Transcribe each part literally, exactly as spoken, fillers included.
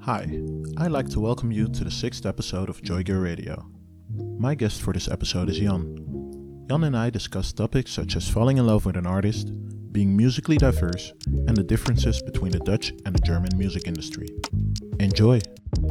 Hi, I'd like to welcome you to the sixth episode of Joy Gear Radio. My guest for this episode is Jan. Jan and I discuss topics such as falling in love with an artist, being musically diverse, and the differences between the Dutch and the German music industry. Enjoy!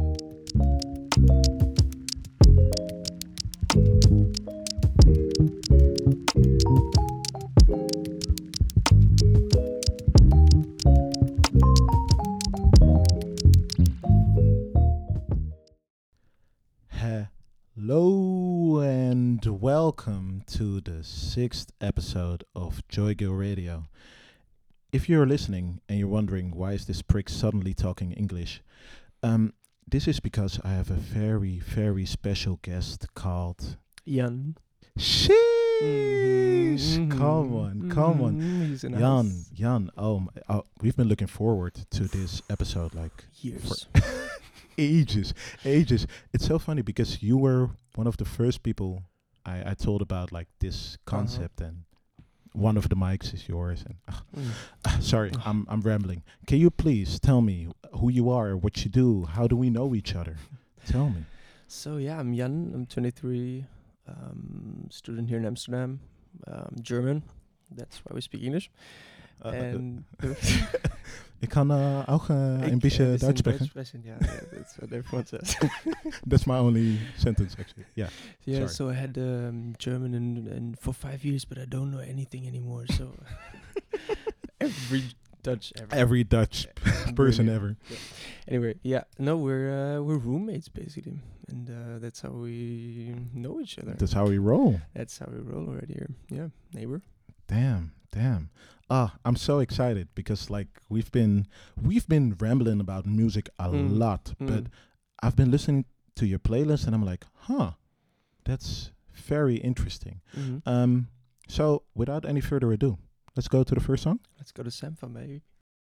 Hello and welcome to the sixth episode of Joy Gear Radio. If you're listening and you're wondering why is this prick suddenly talking English, um, this is because I have a very, very special guest called Jan. Sheesh! Mhm, Come on, come on. mhm, He's in the Jan, house. Jan, oh, my, oh, we've been looking forward to this episode like Years. ages, ages. It's so funny because you were one of the first people I, I told about like this concept, and one of the mics is yours. And uh, Mm. uh, sorry, I'm I'm rambling. Can you please tell me who you are, what you do, how do we know each other? Tell me. So yeah, I'm Jan. I'm twenty-three. Um, student here in Amsterdam. Um, German. That's why we speak English. Uh, uh, and ik kan uh, ook uh, een beetje Duits spreken. spreken. Yeah, yeah, that's what everyone says. That's my only sentence actually. Yeah. Yeah, Sorry. so I had um, German and, and for five years, but I don't know anything anymore. So every Dutch ever. Every Dutch Uh, person really. ever. Yeah. Anyway, yeah, no, we're uh, we're roommates basically, and uh, that's how we know each other. That's how we roll. That's how we roll right here. Yeah, neighbor. Damn, damn. Ah, I'm so excited because like we've been we've been rambling about music a Mm, lot, mm. but I've been listening to your playlist and I'm like, huh, that's very interesting. Mhm. Um, so without any further ado, let's go to the first song. Let's go to Sampha, baby.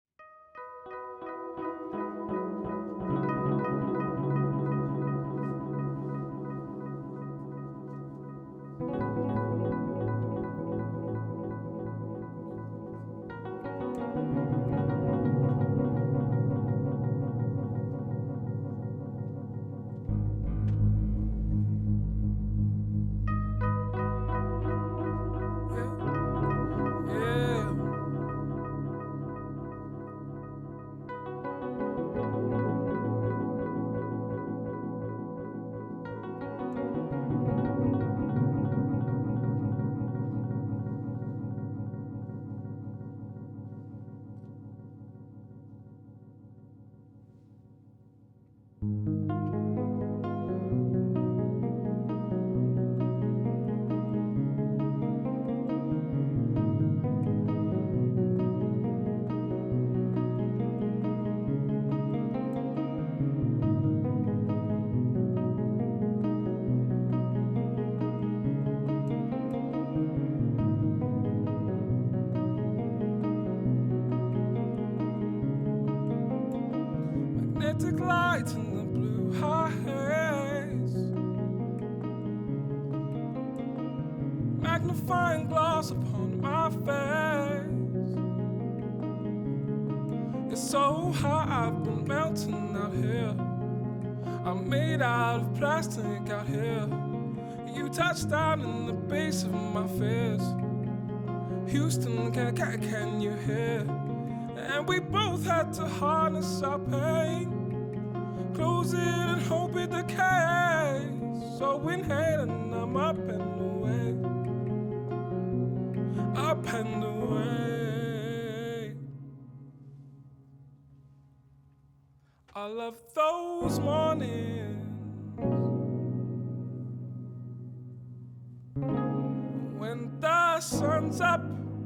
Yeah. Magnetic lights in the blue haze, magnifying glass upon my face. It's so hot, I've been melting out here. I'm made out of plastic out here. You touched down in the base of my fears. Houston, can, can, can you hear? And we both had to harness our pain, close it and hope it decays. So inhaling, I'm up and away, up and away. I love those mornings when the sun's up,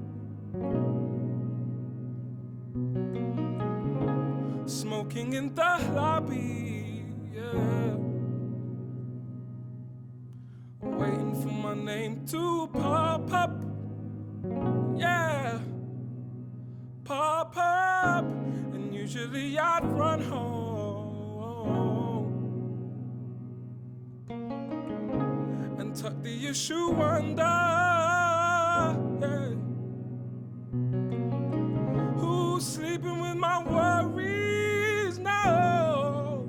smoking in the lobby, yeah, waiting for my name to pop up, yeah, pop up, and usually I'd run home and tuck the issue under, yeah. Who's sleeping with my worries now?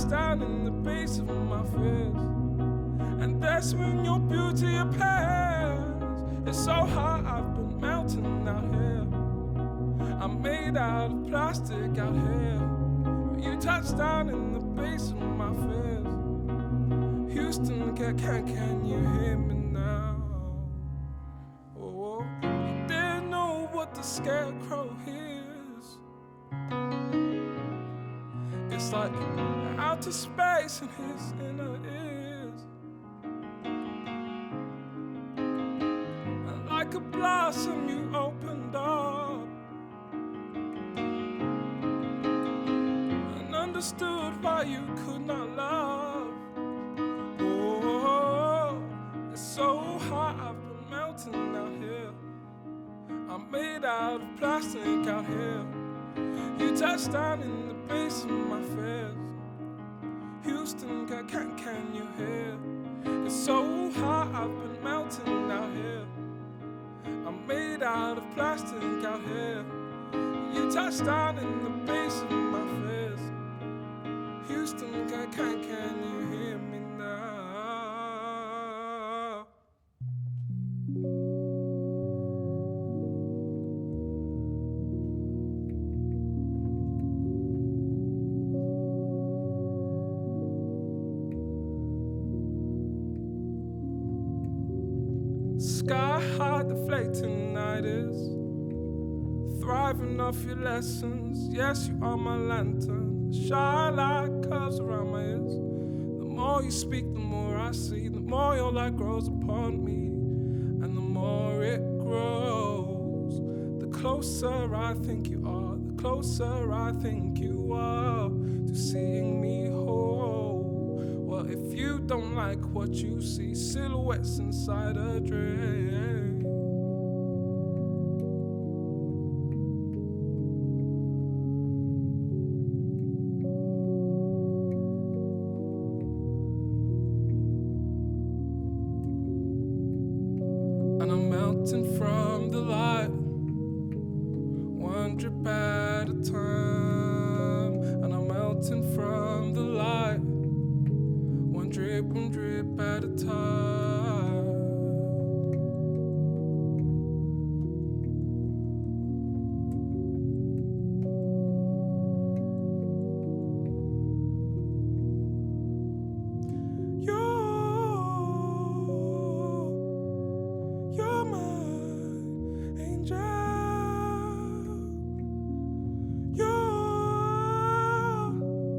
touchdown in the base of my fears. And that's when your beauty appears. It's so hot, I've been melting out here. I'm made out of plastic out here. You touch down in the base of my fears. Houston, can, can, can you hear me now? Oh, you didn't know what the scarecrow hears. It's like outer space in his inner ears. And like a blossom you opened up and understood why you could not love. Oh, it's so hot, I've been melting out here. I'm made out of plastic out here. You touched down in the base of my fears. Houston, can, can, can you hear? It's so hot, I've been melting out here. I'm made out of plastic out here. You touched down in the base of my fears. Houston, can, can, can you hear me now? Sky high, deflating night is thriving off your lessons. Yes, you are my lantern. Shine like curves around my ears. The more you speak, the more I see. The more your light grows upon me, and the more it grows. The closer I think you are, the closer I think you are to seeing me whole. Well, if you don't like what you see, silhouettes inside a dream. And I'm melting from the light, one drip at a time. And I'm melting from the light, one drip, one drip at a time. You're, you're my angel. You're,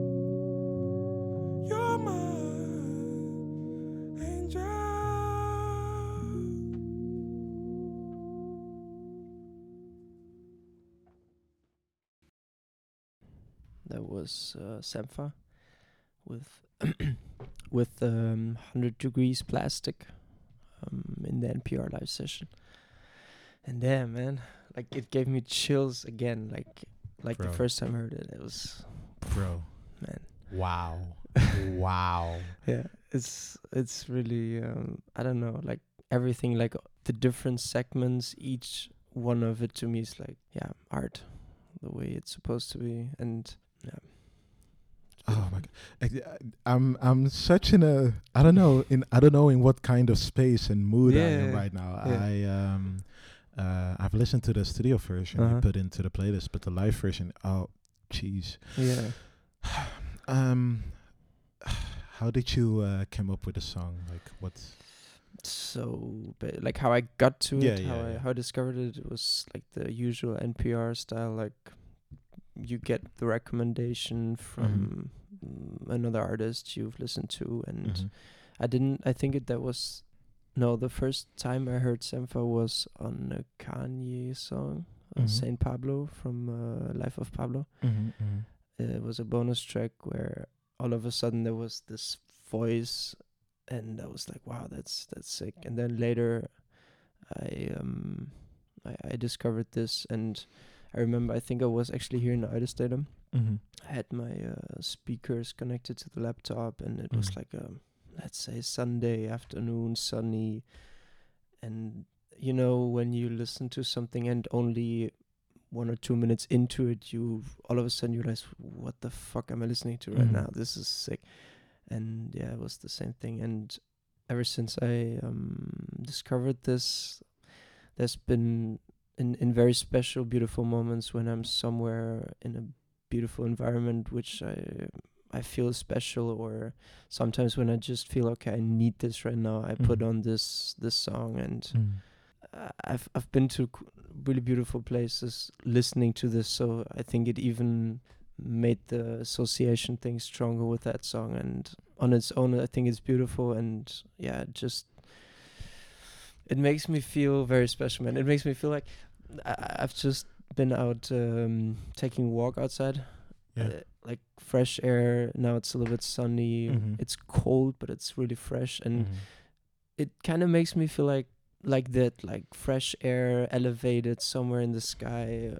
you're my angel. That was uh, Sampha with with um, one hundred degrees plastic um, in the N P R live session. And damn, man, like it gave me chills again. Like like Bro. the first time I heard it, it was Bro. man. Wow. Wow. Yeah, it's it's really um, I don't know, like everything, like the different segments, each one of it to me is like yeah, art, the way it's supposed to be, and yeah. Oh my god. I, I'm I'm such in a I don't know in I don't know in what kind of space and mood I am Yeah, right now. yeah. I um uh I've listened to the studio version I Uh-huh. put into the playlist, but the live version, oh jeez. Yeah. Um how did you uh, come up with the song? Like what So, but like how I got to Yeah, it, how yeah, I yeah. how I discovered it, it was like the usual N P R style. Like you get the recommendation from mm, another artist you've listened to, and Mhm. I didn't. I think it that was no. The first time I heard Sampha was on a Kanye song, uh, Mhm. Saint Pablo from uh, Life of Pablo. Mhm, mhm. It was a bonus track where all of a sudden there was this voice, and I was like, "Wow, that's that's sick." And then later, I um, I, I discovered this, and I remember I think I was actually here in the Stadium. Mhm. I had my uh, speakers connected to the laptop, and it was Mhm. like a let's say Sunday afternoon, sunny, and you know when you listen to something and only one or two minutes into it, you all of a sudden you realize, what the fuck am I listening to right Mhm. now? This is sick. And yeah, it was the same thing. And ever since I um, discovered this, there's been in, in very special, beautiful moments when I'm somewhere in a beautiful environment, which I I feel special, or sometimes when I just feel, okay, I need this right now, I put Mhm. on this this song. And Mm. uh, I've I've been to c- really beautiful places listening to this, so I think it even made the association thing stronger with that song. And on its own, I think it's beautiful. And yeah, it just it makes me feel very special, man. It makes me feel like I- I've just been out um, taking a walk outside, Yeah. uh, like fresh air. Now it's a little bit sunny. Mhm. It's cold, but it's really fresh, and Mhm. it kind of makes me feel like like that, like fresh air, elevated somewhere in the sky,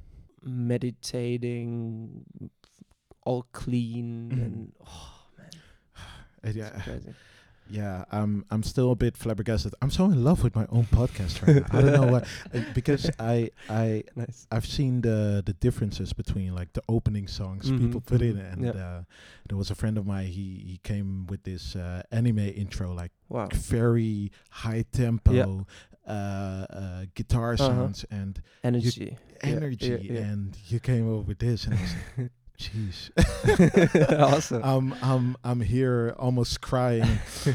meditating, all clean, Mhm. and oh man, Uh, it's yeah, crazy. yeah. I'm I'm still a bit flabbergasted. I'm so in love with my own podcast right now. I don't know why, uh, because I I Nice. I've seen the the differences between like the opening songs people Mhm, put in, mhm, and yeah. uh, there was a friend of mine. He he came with this uh, anime intro, like Wow. very high tempo, uh, uh, guitar Uh-huh. sounds and Energy. Yeah, energy, yeah, yeah. and you came over with this, and I was like, jeez. Awesome. I'm I'm I'm here almost crying.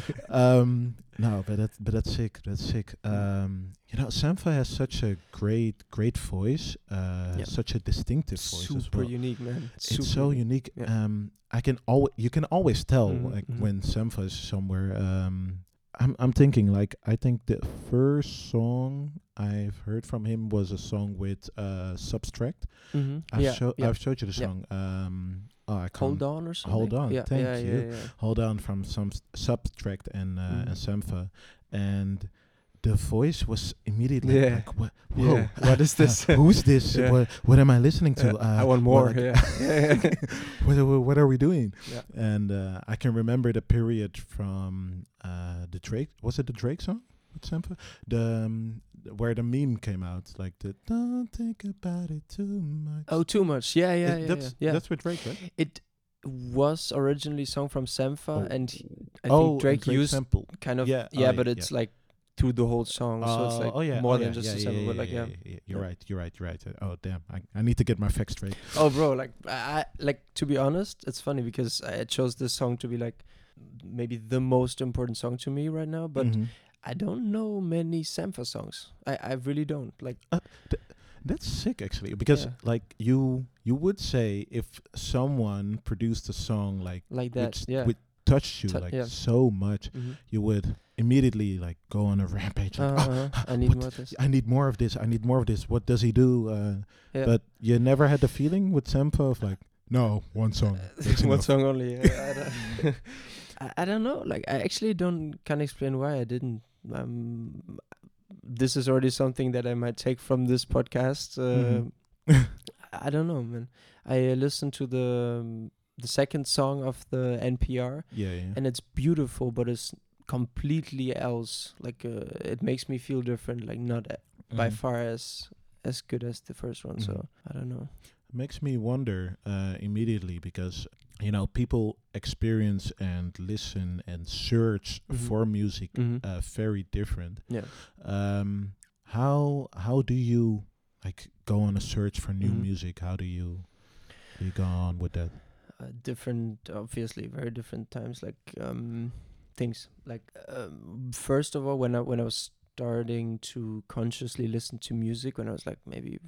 um, no, but that but that's sick. That's sick. Um, you know, Sampha has such a great great voice. Uh, Yeah. such a distinctive voice as Super well. unique, man. It's Super so unique. Yeah. Um, I can always you can always tell Mhm, like mhm. when Sampha is somewhere. Um, I'm I'm thinking like I think the first song I've heard from him was a song with uh Substract. Mhm. I've Yeah, show yeah. I've showed you the Yeah. song. Um, oh, I can't. Hold on or something. Hold on, Yeah, thank yeah, you. Yeah, yeah. Hold on from some s- Subtract and uh, Mhm. and Sampha, and the voice was immediately Yeah. like, "What? Whoa, Yeah. What is this? who's this? Yeah. What, what am I listening to? Yeah, Uh, I want what, more. like- Yeah. Yeah. what, are we- what are we doing?" Yeah. And uh, I can remember the period from uh, the Drake. Was it the Drake song with Sampha? The um, th- where the meme came out, like the "Don't think about it too much." Oh, too much. Yeah, yeah, It- yeah, that's yeah. yeah. that's with Drake, right? It was originally sung from Sampha, Oh. and he, I oh, think and Drake, Drake used sample. kind of Yeah, yeah, oh, but yeah, it's like through the whole song, so it's like oh yeah, more oh than yeah, just yeah, a yeah, sample. yeah, But like yeah, yeah, yeah, You're Yeah. right. You're right. You're right. Oh damn! I, I need to get my facts straight. Oh, bro, like I I- like to be honest, it's funny because I chose this song to be like maybe the most important song to me right now, but Mhm. I don't know many Sampha songs. I I really don't like. That's sick actually, because Yeah. like you you would say if someone produced a song like Like that, which yeah. which touched you Tou- like yeah. so much, Mhm. you would immediately like go on a rampage. Like, "Oh, Uh-huh. I need what more of this. I need more of this. I need more of this. What does he do? Uh, Yeah. But you never had the feeling with Sampha of like, no, one song. that's One enough." song only. Yeah, I, don't I, I don't know. Like I actually don't can't explain why I didn't. Um, this is already something that I might take from this podcast. Uh, Mhm. I don't know, man. I uh, listened to the um, the second song of the N P R, Yeah, yeah. and it's beautiful, but it's completely else. Like uh, it makes me feel different. Like not a- by Mhm. far as as good as the first one. Mhm. So I don't know. Makes me wonder uh, immediately because you know people experience and listen and search Mhm. for music Mhm. uh, very different. Yeah. Um, how how do you like go on a search for new Mhm. music? How do you do you go on with that? Uh, different, obviously, very different times. Like um, things. Like um, first of all, when I when I was starting to consciously listen to music, when I was like maybe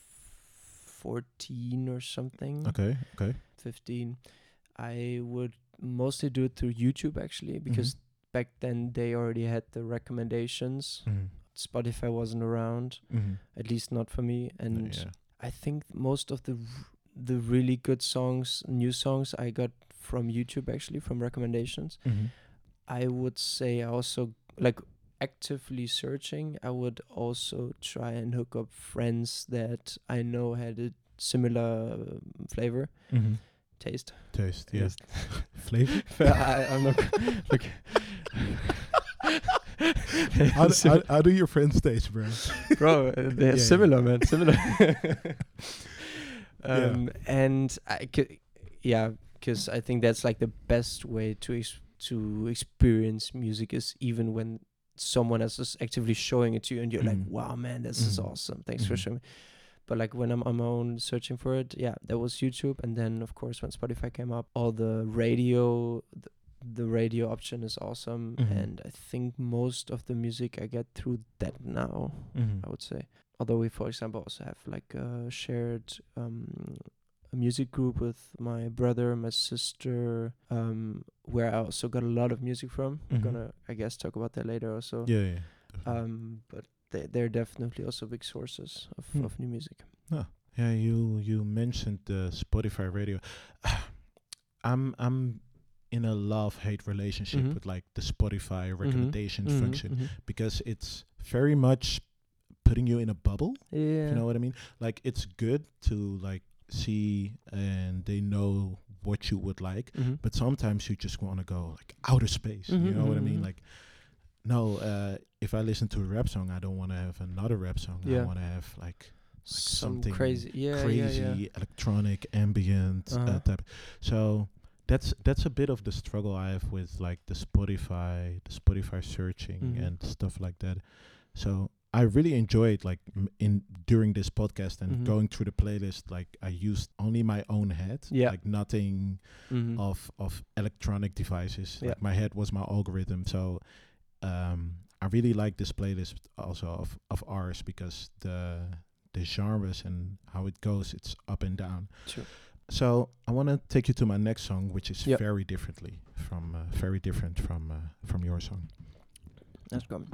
fourteen or something, Okay, okay. fifteen, I would mostly do it through YouTube actually, because back then they already had the recommendations. Mm-hmm. Spotify wasn't around, Mm-hmm. at least not for me, and yeah. I think most of the r- the really good songs, new songs, I got from YouTube actually, from recommendations. Mm-hmm. I would say I also like actively searching. I would also try and hook up friends that I know had a similar um, flavor, Mm-hmm. taste. Taste, yeah. Taste. Flavor. I, I'm not like how, how, how do your friends stage, bro? Bro, uh, they're Yeah, similar, man. Similar. Yeah. um, And I c- yeah, because I think that's like the best way to ex- to experience music is even when someone else is actively showing it to you, and you're like, Mhm. "Wow, man, this is Mhm. awesome! Thanks for Mhm. showing me." But like when I'm on my own searching for it, yeah, that was YouTube, and then of course when Spotify came up, all the radio, the, the radio option is awesome, Mhm. and I think most of the music I get through that now. Mhm. I would say. Although we, for example, also have like a shared um, a music group with my brother, my sister, um, where I also got a lot of music from. Mhm. We're gonna, I guess, talk about that later also. Yeah, yeah. definitely. Um, but they they're definitely also big sources of, Hmm. of new music. Yeah, you you mentioned the Spotify radio. I'm I'm in a love-hate relationship Mhm. with like the Spotify recommendations Mhm, function mhm. because it's very much putting you in a bubble. Yeah. You know what I mean? Like it's good to like see and they know what you would like, Mhm. but sometimes you just want to go like outer space. Mhm, You know what I mhm, mean? mhm. Like no, uh, if I listen to a rap song, I don't want to have another rap song. I Yeah. want to have like Some something crazy, yeah, crazy yeah, yeah. electronic ambient uh, Uh-huh. type. So that's that's a bit of the struggle I have with like the Spotify, the Spotify searching Mhm. and stuff like that. So I really enjoyed like m- in during this podcast and Mhm. going through the playlist. Like I used only my own head, Yeah. like nothing Mhm. of of electronic devices. Yeah. Like my head was my algorithm. So um, I really like this playlist also of of ours because the the genres and how it goes, it's up and down. Sure. So I want to take you to my next song, which is Yep. very differently from uh, very different from uh, from your song. Let's go.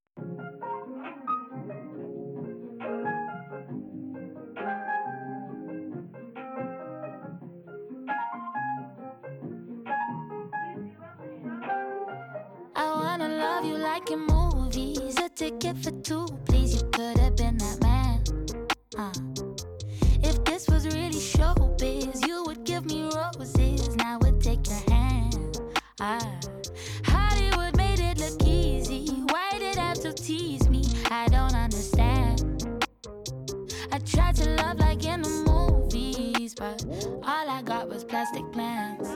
I wanna love you like in movies. A ticket for two, please. You could have been that man. Uh. If this was really showbiz, you would give me roses. Now I would take your hand. Ah. Hollywood made it look easy. Why did it have to tease me? I don't understand. I tried to love like in the movies, but all I got was plastic plans.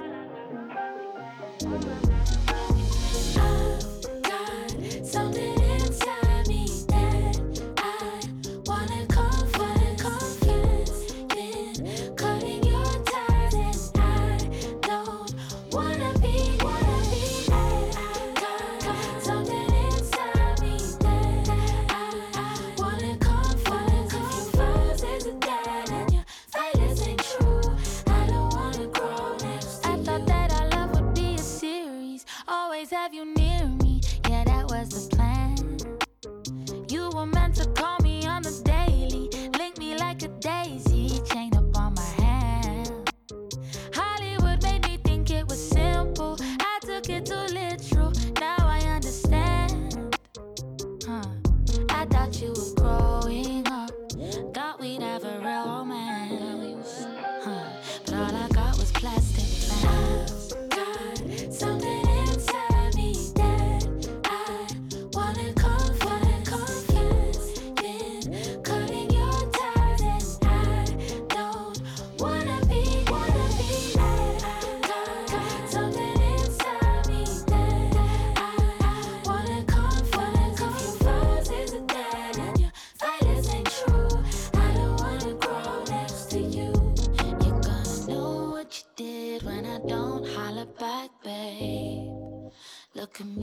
I've got something inside me that I wanna confide, confess in cutting your ties, and I don't wanna be, wanna be that. I've got something inside me that I wanna confide, confess is a dad, and your violence ain't true. I don't wanna grow next to you. I thought that our love would be a series, always have you near me. Yeah, that was the plan. You were meant to call me on the daily, link me like a daisy chain up on my hand. Hollywood made me think it was simple. I took it too literal. Now I understand. Huh. I thought you were growing up. Thought we'd have a real romance. Huh. But all I got was plastic plans. I've got something inside me that I wanna confide, confess in cutting your ties, and I don't wanna be, wanna be that. I've got something inside me that I wanna confide, confess is a dad, and your violence ain't true. I don't wanna grow next to you. You're gonna know what you did when I don't holler back, babe. Look at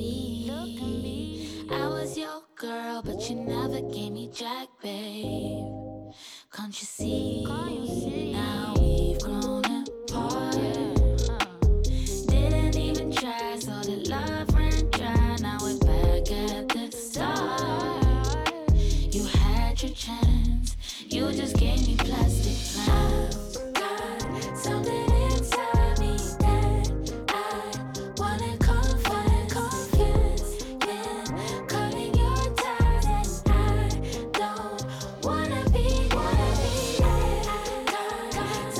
me. I was your girl, but you never gave me jack, babe. Can't you see? Now we've grown apart. Didn't even try, so the love ran dry. Now we're back at the start. You had your chance, you just gave me plastic plans. Got something inside me that I wanna confide, confess in cutting your ties, and I don't wanna be, wanna be that. Got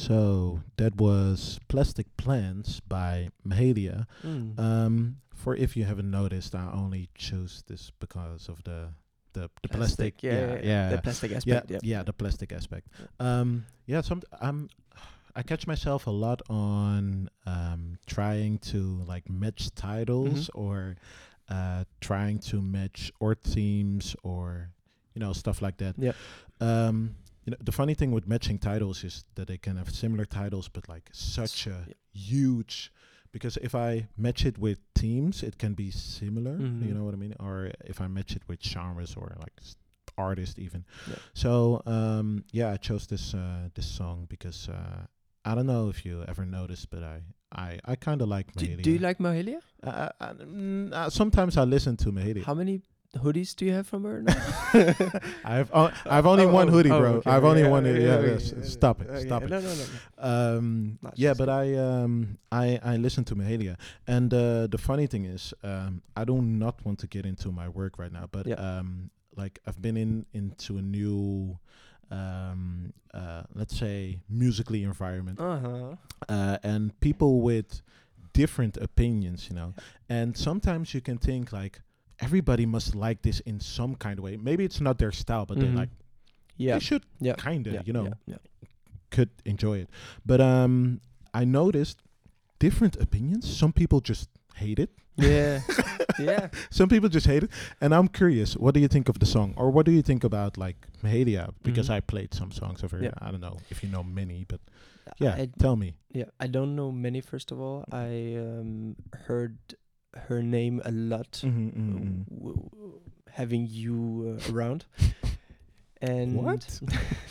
So that was Plastic Plants by Mahalia. Mm. Um, for if you haven't noticed, I only chose this because of the the, the plastic. Yeah, yeah, yeah. The plastic yeah, aspect. yeah, Yeah, the plastic aspect. Um, yeah, some I'm. I catch myself a lot on um, trying to like match titles Mhm. or uh, trying to match or themes or you know stuff like that. Yeah. Um, you know, the funny thing with matching titles is that they can have similar titles, but like such a Yeah. huge. Because if I match it with themes, it can be similar. Mhm. You know what I mean? Or if I match it with genres or like s- artists even. Yeah. So um, yeah, I chose this uh, this song because uh, I don't know if you ever noticed, but I I, I kind of like Do, Mahalia. do you like Mahalia? Uh, uh, uh, mm, uh, sometimes I listen to Mahalia. How many hoodies do you have from her now? I've o- I've only Oh, one oh, hoodie, oh, bro. okay, I've only okay, one. okay, hoodie. Yeah, okay, yes, okay, stop it, okay, stop it. No, no, no. no. Um, Not yeah, just but kidding. I um I I listen to Mahalia, and uh, the funny thing is, um, I do not want to get into my work right now, but Yeah. um, like I've been in into a new, um, uh, let's say musically environment, Uh-huh. uh, and people with different opinions, you know, and sometimes you can think like everybody must like this in some kind of way. Maybe it's not their style, but Mhm. they like Yeah. they should Yeah. kind of, yeah. you know, Yeah. yeah. could enjoy it. But um, I noticed different opinions. Some people just hate it. Yeah. yeah. Some people just hate it. And I'm curious, what do you think of the song? Or what do you think about like Mahalia? Because Mhm. I played some songs of her. Yeah. I don't know if you know many, but yeah, I, tell me. yeah. I don't know many. First of all, I um, heard her name a lot. Mm-hmm, w- w- having you uh, around, and What?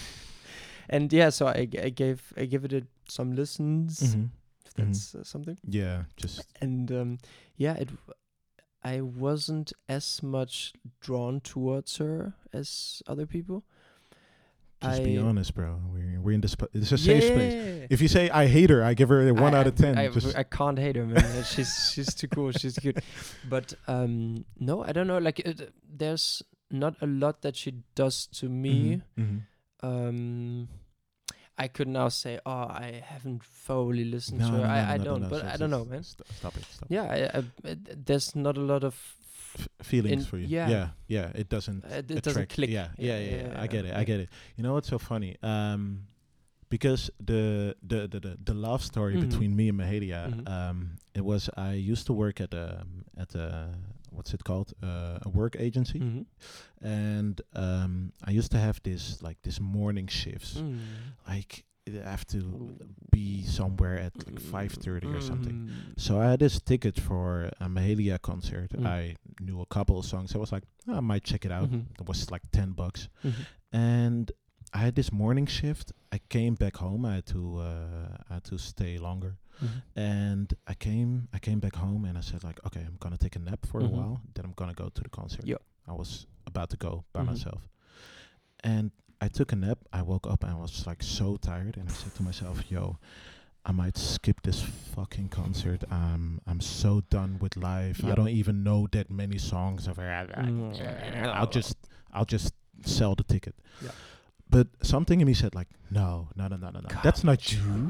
and yeah, so I, g- I gave I gave it a, some listens. Mm-hmm. If that's uh, something. Yeah, just And um, yeah, it. w- I wasn't as much drawn towards her as other people. just I, be honest, bro. We're we're in this. Sp- it's a safe space. Yeah. If you say I hate her, I give her a one I- out of I- ten. I, just I can't hate her, man. she's she's too cool. She's good. But um, no, I don't know. Like, it, there's not a lot that she does to me. Mhm. Um, I could now say, oh, I haven't thoroughly listened No, to no, her. no, I, no, I no, don't, no, but so- I so- don't know, so- man. st- Stop it. Stop. Yeah, I, I, it, there's not a lot of. F- feelings In- for you. yeah. yeah, yeah. It doesn't. Uh, it attract- doesn't click. Yeah, yeah, yeah. yeah, I get it. I yeah. get it. You know what's so funny? Um, because the the the the, the love story Mhm. between me and Mahalia, Mhm. um, it was I used to work at a at a what's it called uh, a work agency, Mhm. and um, I used to have this like this morning shifts, Mm. like I have to be somewhere at like five thirty or something. Mm. So I had this ticket for a Mahalia concert. Mm. I knew a couple of songs. I was like, "Oh, I might check it out. Mhm. It was like ten bucks. Mhm. And I had this morning shift. I came back home. I had to uh, I had to stay longer. Mhm. And I came I came back home and I said like, okay, I'm gonna take a nap for Mhm. a while. Then I'm gonna go to the concert. Yep. I was about to go by Mhm. myself. And I took a nap. I woke up and I was like so tired. And I said to myself, yo, I might skip this fucking concert. Um, I'm so done with life. I Yep. don't even know that many songs of her. Mm. I'll just I'll just sell the ticket. Yeah. But something in me said like, no, no, no, no, no, no. That's not you.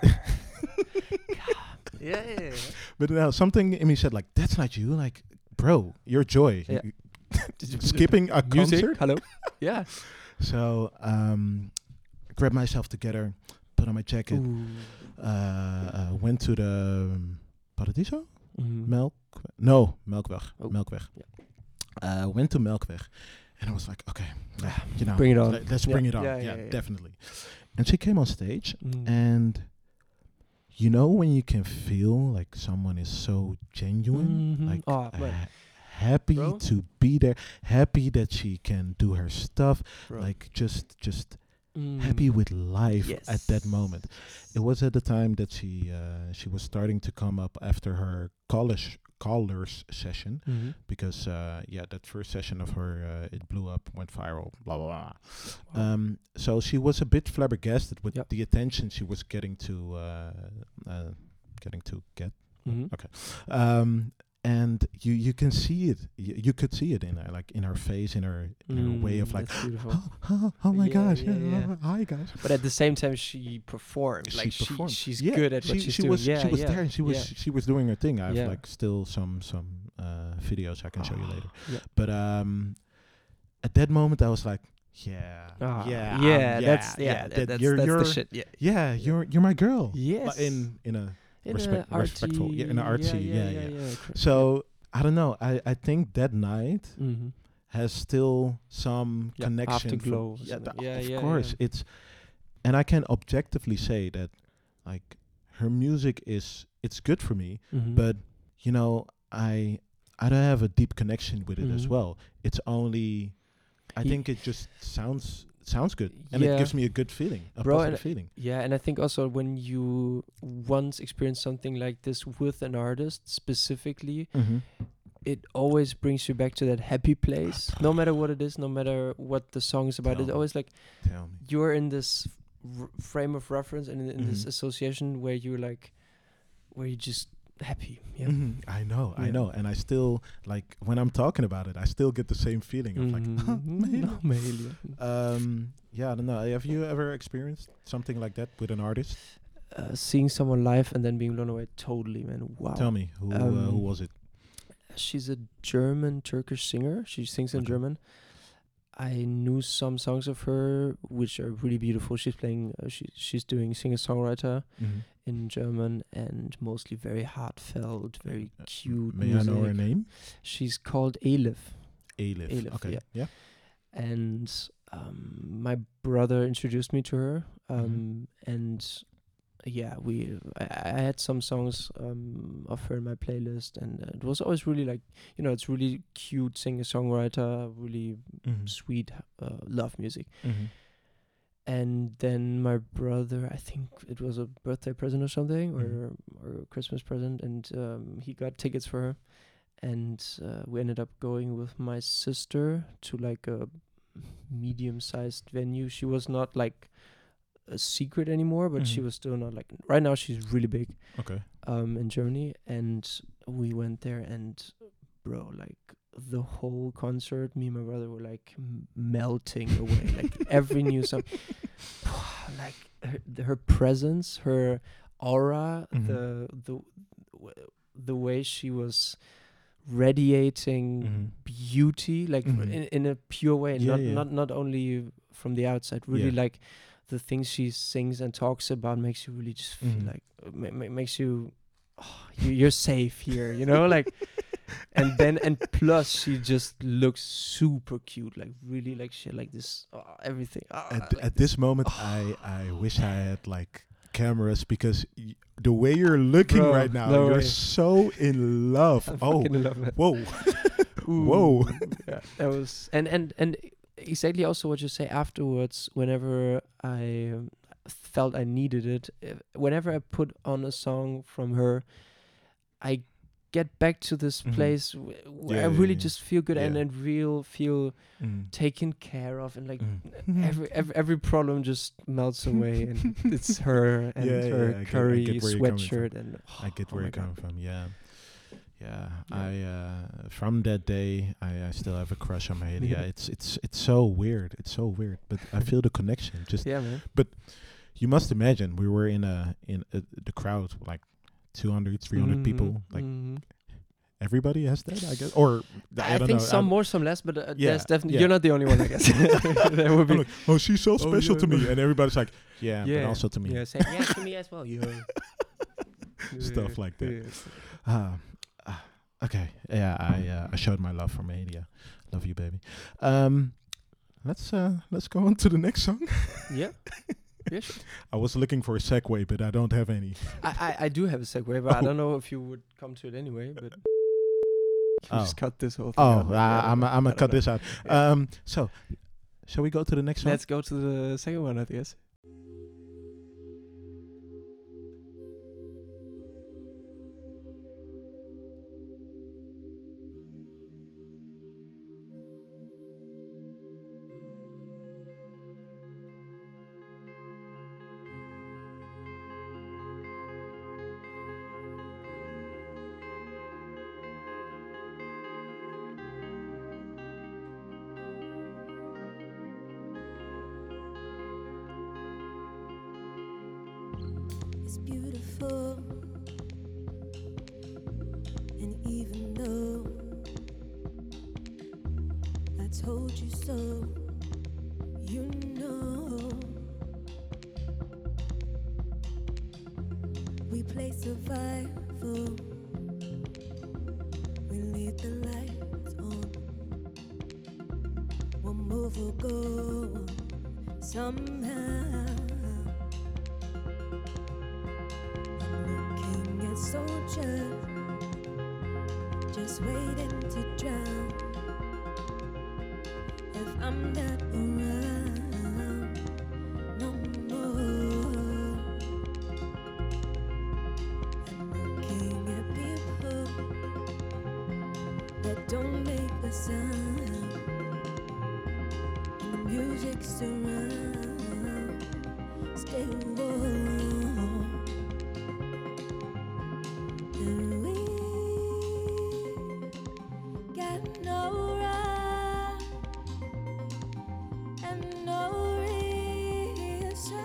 Yeah, yeah, yeah. But no, something in me said like, that's not you. Like, bro, you're Joy. Yeah. You- skipping a Music, concert. hello. Yeah. So um, grabbed myself together, put on my jacket, Ooh. uh, uh, went to the um, Paradiso? Mhm. Melk? No, Melkweg. Oh. Melkweg. Uh, went to Melkweg. And I was like, okay, yeah, you know, Bring it on. let- let's Yeah. bring it on. Yeah, Yeah, yeah, yeah. definitely. And she came on stage, Mm. and you know when you can feel like someone is so genuine, Mhm. like Oh, uh, but- happy Bro. to be there, happy that she can do her stuff, Bro. like just just Mm. happy with life at that Yes. moment. It was at the time that she uh, she was starting to come up after her college callers session, Mhm. because uh, yeah, that first session of her uh, it blew up, went viral, blah blah blah. Wow. Um, so she was a bit flabbergasted with Yep. the attention she was getting to uh, uh, getting to get. Mhm. Okay. Um, and you you can see it. You, you could see it in her, like in her face, in her, in her way of Mm, like, that's beautiful. oh, oh, oh my Yeah, gosh, yeah, yeah, yeah. hi guys. But at the same time, she performed. She like she, performed. she's Yeah, good at what she, she's she doing. was yeah, she was yeah, there and she was yeah. she was doing her thing. I have Yeah. like still some some uh, videos I can show you later. Yeah. But um, at that moment I was like, yeah, Ah, yeah, um, yeah, that's yeah, that- that, that's you're that's you're the shit. Yeah, yeah, you're you're my girl. yes. But in in a in respect- a respectful- artsy, yeah, in a artsy, yeah, yeah, yeah. yeah. cor- so I don't know. I I think that night yeah. Mhm. has still some Yeah, connection. from- afterglow or Yeah, something. the- Yeah, of yeah, course. yeah. It's and I can objectively say that like her music is it's good for me, Mhm. but you know I I don't have a deep connection with it as Mhm. well. It's only I He- think it just sounds sounds good and it Yeah. gives me a good feeling, a Bro, positive and- feeling. Yeah, and I think also when you once experience something like this with an artist specifically, Mm-hmm. it always brings you back to that happy place. No matter what it is, no matter what the song is about, Tell it's me. always like Tell me. you're in this r- frame of reference and in, in this Mhm. association where you're like, where you're just happy. Yeah. Mhm. I know, I Yeah. know, and I still like when I'm talking about it, I still get the same feeling of like, Mhm. Mahalia. No, Mahalia. Um, yeah, I don't know. Have you ever experienced something like that with an artist? Uh, seeing someone live and then being blown away, totally, man. Wow. Tell me, who uh, who Um, was it? She's a German Turkish singer. She sings in Okay. German. I knew some songs of her, which are really beautiful. She's playing. Uh, she she's doing singer songwriter Mm-hmm. in German and mostly very heartfelt, very Uh, cute. May I know her music. name? She's called Elif, Elif. Elif, Okay. yeah. Yeah. and um, my brother introduced me to her. Um, Mhm. And yeah, we I, I had some songs um, of her in my playlist, and uh, it was always really like, you know, it's really cute singer songwriter, really Mm-hmm. sweet uh, love music. Mm-hmm. And then my brother, I think it was a birthday present or something, or Mhm. or a Christmas present, and um, he got tickets for her, and uh, we ended up going with my sister to like a medium-sized venue. She was not like a secret anymore, but she Mhm. was still not like. Right now, she's really big Okay. um, in Germany, and we went there, and bro, like the whole concert, me and my brother were like m- melting away. Like every new song, like her, th- her presence, her aura, Mhm. the the w- the way she was radiating Mhm. beauty, like Mhm. in in a pure way, Yeah, not yeah. not not only from the outside, really Yeah. like the things she sings and talks about makes you really just feel Mhm. like uh, ma- ma- makes you oh, you, you're safe here, you know, like. And then and plus she just looks super cute, like really like she had like this oh, everything. ah, At, like at this moment, I I wish I had like cameras because y- the way you're looking Bro, right now, no you're way. so in love. I'm Oh, fucking in love, man. whoa. Ooh, Whoa. yeah, that was and and and exactly also what you say afterwards. Whenever I um, felt I needed it, uh, whenever I put on a song from her, I get back to this Mhm. place w- where Yeah, I yeah, really yeah. just feel good and Yeah. and real feel Mm. taken care of, and like Mm. every, every every problem just melts away, and it's her and Yeah, her yeah, I get- I curry get where you're coming from. sweatshirt, and I get oh where my you're God. coming from. Yeah, yeah. Yeah. I uh, from that day, I, I still have a crush on Mahalia. Yeah. It's it's it's so weird. It's so weird, but I feel the connection. Just Yeah, man. you must imagine we were in a in a, the crowd like two hundred, three hundred people. Mhm, Like mhm. everybody has that, I guess. Or I, I, don't think know. some I'm- more, some less, but uh, Yeah, there's definitely yeah. you're not the only one, I guess. There would be I'm like, oh, she's so special yeah, to me, no. and everybody's like, yeah, but also to me. Yeah, say, yeah, to me as well. Yeah. Stuff like that. Yeah. Ah, ah, okay. Yeah, I uh, I showed my love for Mahalia. Love you, baby. Um, let's uh let's go on to the next song. Yeah. Yeah, sure. I was looking for a segue, but I don't have any. I, I, I do have a segue, but I Oh. don't know if you would come to it anyway. But you Oh. just cut this whole thing. Oh, out. uh, Yeah, I don't I'm know. I'm I gonna don't cut know. this out. Yeah. Um, so shall we go to the next song? Let's go to the second one, I guess. beautiful. And even though I told you so, you know we play survival. We leave the lights on. One move will go somehow. I'm looking at soldiers just waiting to drown. If I'm not around no more, I'm looking at people that don't make a sound, and the music surround. Stay warm, and we got no right and no reason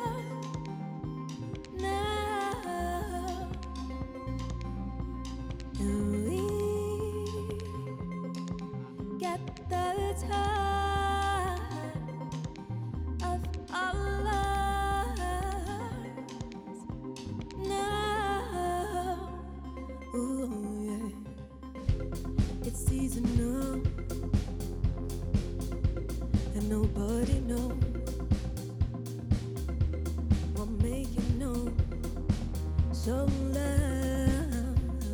now. And we got the time of our lives now. Ooh, yeah. It's seasonal, and nobody knows what make you know so loud.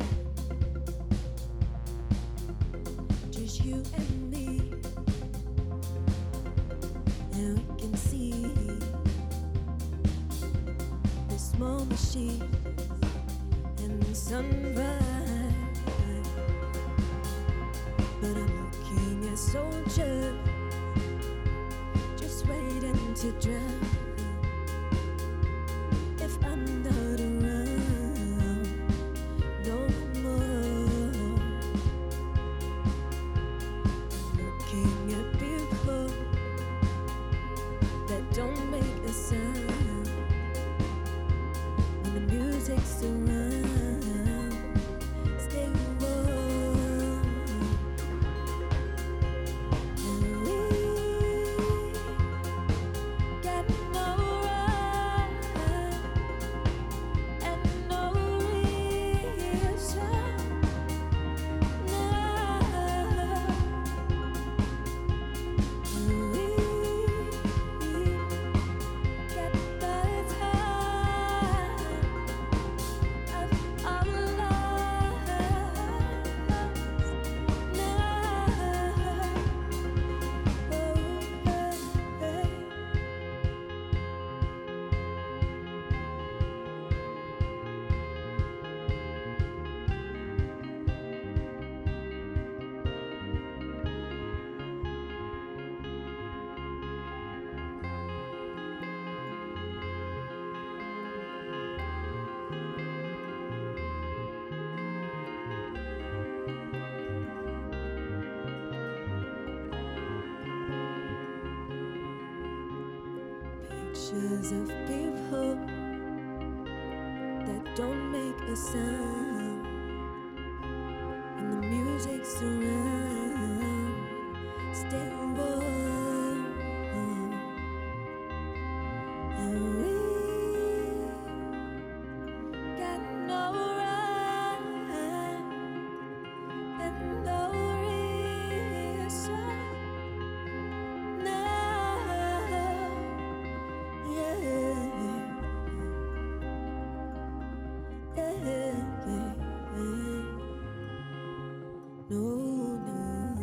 Just you and me, and we can see the small machine and the sunrise. But I'm looking at soldiers just waiting to drown. If I'm not around no more, I'm looking at people that don't make a sound when the music's around. Stay warm, and we got no right and no reason now. And we got the time of our lives now. Oh, hey, hey. Pictures of people that don't make a sound, and the music surround. Stay warm, and we got no right and no reason now. Yeah, yeah, yeah. No, no.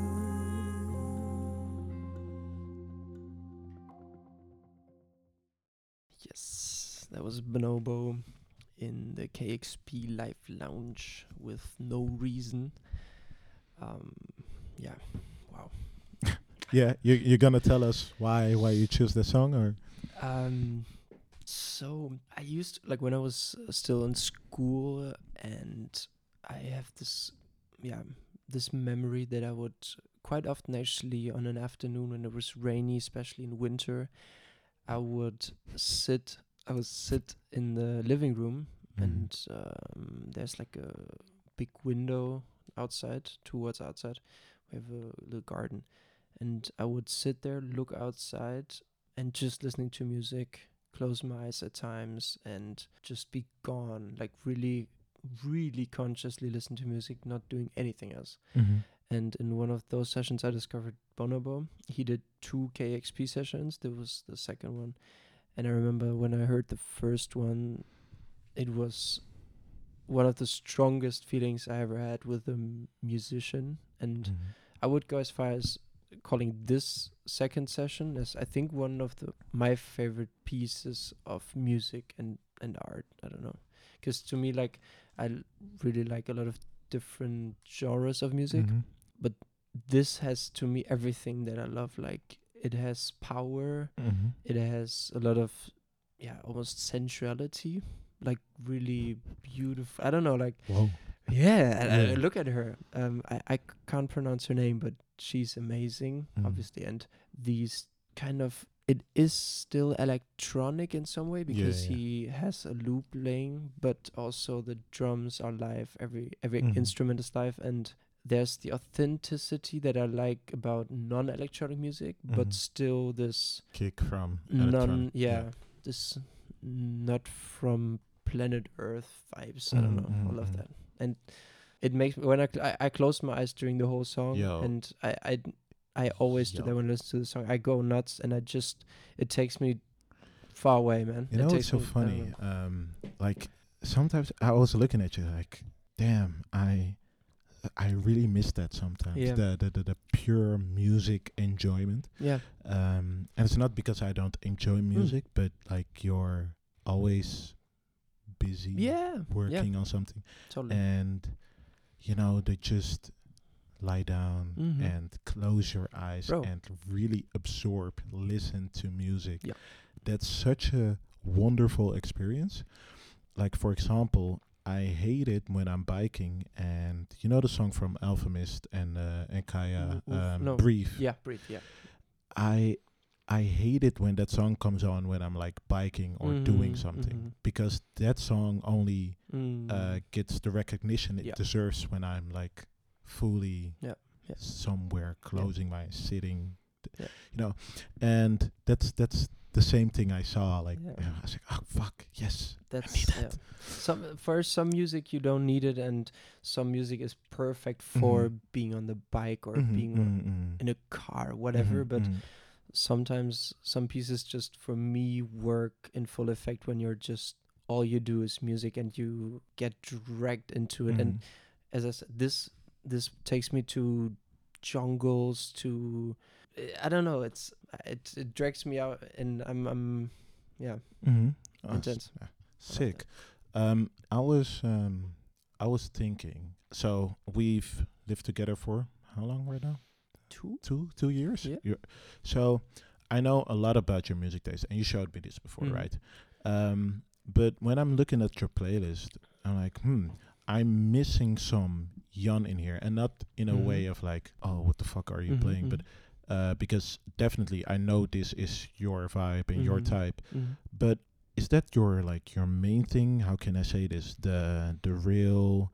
Yes, that was Bonobo in the K X P Live Lounge with No Reason. Um, yeah, wow. Yeah, you you're gonna tell us why why you choose the song, or Um, so I used like when I was uh, still in school, and I have this, yeah, this memory that I would quite often actually on an afternoon when it was rainy, especially in winter, I would sit, I would sit in the living room Mhm. and um, there's like a big window outside, towards outside. We have a little garden, and I would sit there, look outside, and just listening to music, close my eyes at times, and just be gone, like really, really consciously listen to music, not doing anything else. Mhm. And in one of those sessions, I discovered Bonobo. He did two K X P sessions. There was the second one. And I remember when I heard the first one, it was one of the strongest feelings I ever had with a m- musician. And Mhm. I would go as far as calling this second session as I think one of the my favorite pieces of music and, and art. I don't know. Because to me, like, I l- really like a lot of different genres of music. Mhm. This has to me everything that I love. Like, it has power, Mhm. it has a lot of, yeah, almost sensuality, like really beautiful. I don't know, like, Whoa. yeah, and I- Yeah. I look at her. Um, I, I c- can't pronounce her name, but she's amazing, Mm. obviously. And these kind of, it is still electronic in some way because yeah. he has a loop playing, but also the drums are live. Every every Mhm. instrument is live, and there's the authenticity that I like about non-electronic music, Mhm. but still this Kick from non, electronic. yeah, this not from planet Earth vibes. I don't Mm, know. I mm, love mm. that, and it makes me when I cl- I, I close my eyes during the whole song, Yo. and I I I always do Yo. that when I listen to the song. I go nuts, and I just it takes me far away, man. You it know, takes it's so me, I don't funny. know. Um, like sometimes I was looking at you like, damn, I, I really miss that sometimes. Yeah. The, the the the pure music enjoyment. Yeah, Um, and it's not because I don't enjoy Hmm. music, but like you're always busy yeah, working on something, totally. and you know they just lie down Mhm. and close your eyes Bro. and really absorb, listen to music. Yeah. That's such a wonderful experience. Like for example, I hate it when I'm biking and you know the song from Alchemist and uh, and Kaya, Wo- woof- um, no. Brief. Yeah, breathe. Yeah. I I hate it when that song comes on when I'm like biking or doing Mhm, something mhm. because that song only Mm. uh, gets the recognition it Yeah. deserves when I'm like fully Yeah, yeah. somewhere closing my sitting, th- Yeah. you know, and that's that's the same thing I saw. Like Yeah. you know, I was like, oh fuck, yes, That's need yeah. that. Some for some music you don't need it, and some music is perfect for Mhm. being on the bike or Mhm, being mhm, mhm. in a car, whatever. Mhm, But mhm. sometimes some pieces just for me work in full effect when you're just all you do is music and you get dragged into it. And Mhm. as I said, this this takes me to jungles, to I don't know. It's it it drags me out, and I'm I'm yeah Mhm. Oh, s- intense. yeah. Sick. Um, I was um, I was thinking. So we've lived together for how long right now? Two. Two two years. Yeah. You're- so I know a lot about your music taste, and you showed me this before, Mhm. right? Um, but when I'm looking at your playlist, I'm like, hmm, I'm missing some Jan in here, and not in a Mhm. way of like, oh, what the fuck are you Mhm, playing? But uh, because definitely I know this is your vibe and your Mhm. type. Mhm. But is that your like your main thing? How can I say this? The the real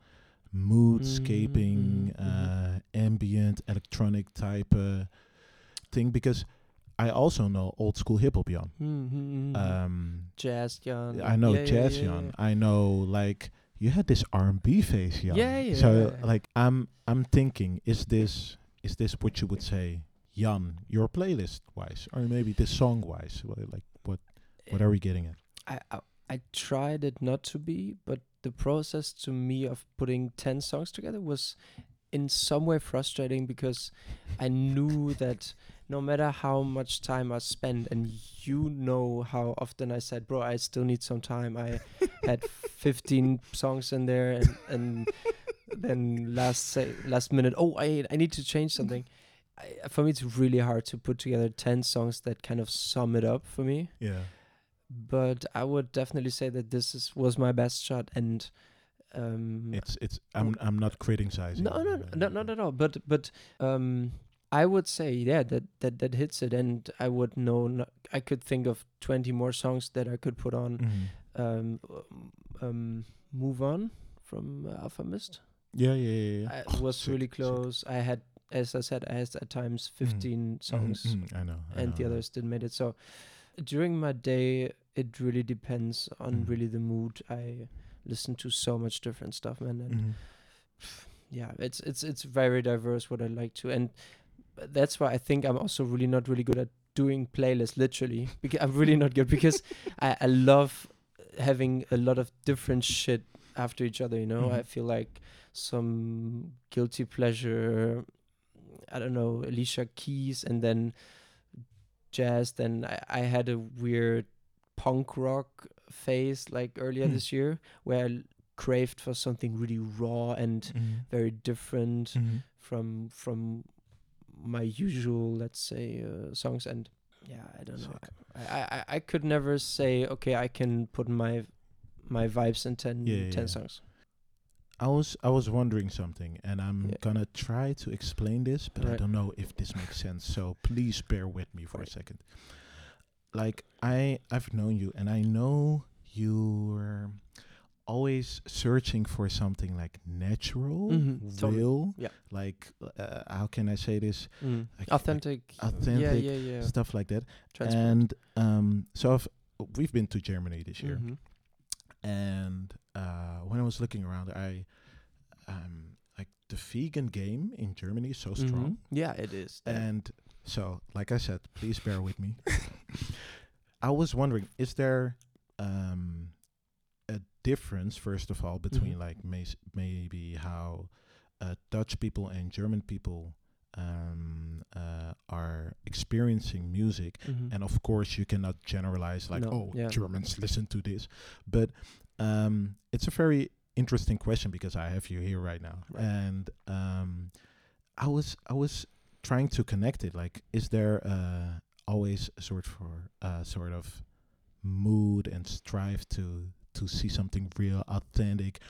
moodscaping, Mhm, mhm. uh, ambient, electronic type uh, thing? Because I also know old school hip hop Jan. Mhm, mhm. Um, Jazz Jan. I know Yeah, yeah, jazz yeah, Jan. yeah. I know like you had this R and B phase Jan. Yeah, yeah, So yeah. like I'm I'm thinking, is this is this what you would say, Jan, your playlist wise, or maybe this song wise? Well, like what what are we getting at? I, I I tried it not to be, but the process to me of putting ten songs together was in some way frustrating because I knew that no matter how much time I spend, and you know how often I said, bro, I still need some time. I had fifteen songs in there, and, and then last say last minute, oh, I I need to change something. I, for me, it's really hard to put together ten songs that kind of sum it up for me. Yeah. But I would definitely say that this is was my best shot, and um, It's it's I'm I'm not criticizing. no, no, uh, no, no, not at all. But but um, I would say yeah that that that hits it, and I would know. No, I could think of twenty more songs that I could put on. mhm. Um, um, Move On from uh, Alpha Mist. Yeah, yeah, yeah. yeah. I Oh, was sick, really sick. close. I had, as I said, I had at times fifteen Mhm, songs, mhm, I know. I and know, the I know. others didn't make it. So during my day, it really depends on Mhm. really the mood. I listen to so much different stuff, man, and Mhm. yeah, it's it's it's very diverse what I like to, and that's why I think I'm also really not really good at doing playlists. Literally, because I'm really not good because I, I love having a lot of different shit after each other. You know, I Mhm. feel like some guilty pleasure. I don't know, Alicia Keys, and then jazz. Then I, I had a weird punk rock phase like earlier Hmm. this year where I l- craved for something really raw and Mhm. very different Mhm. from from my usual, let's say, uh, songs. And yeah, I don't know. Sick. I, I, I- I could never say, okay, I can put my my vibes in ten, Yeah, yeah, ten yeah. songs. I was I was wondering something, and I'm Yeah. gonna try to explain this, but I Right. don't know if this makes sense. So please bear with me for Right. a second. Like I I've known you, and I know you're always searching for something like natural, Mhm, totally. real. Yeah. Like uh, how can I say this? Mm. Like- like Authentic. Yeah, authentic yeah, yeah. Stuff like that. Transparent. And um, so I've, we've been to Germany this year. Mhm. And uh, when I was looking around, I um, like the vegan game in Germany is so Mhm. strong. Yeah, it is. Yeah. And so, like I said, please bear with me. I was wondering, is there um, a difference, first of all, between Mhm. like may- maybe how uh, Dutch people and German people um, uh, are experiencing music? Mhm. And of course, you cannot generalize like, No, oh, yeah. Germans listen to this. But um, it's a very interesting question because I have you here right now, Right. and um, I was I was trying to connect it. Like, is there uh, always a sort for uh, sort of mood and strive to to see something real, authentic,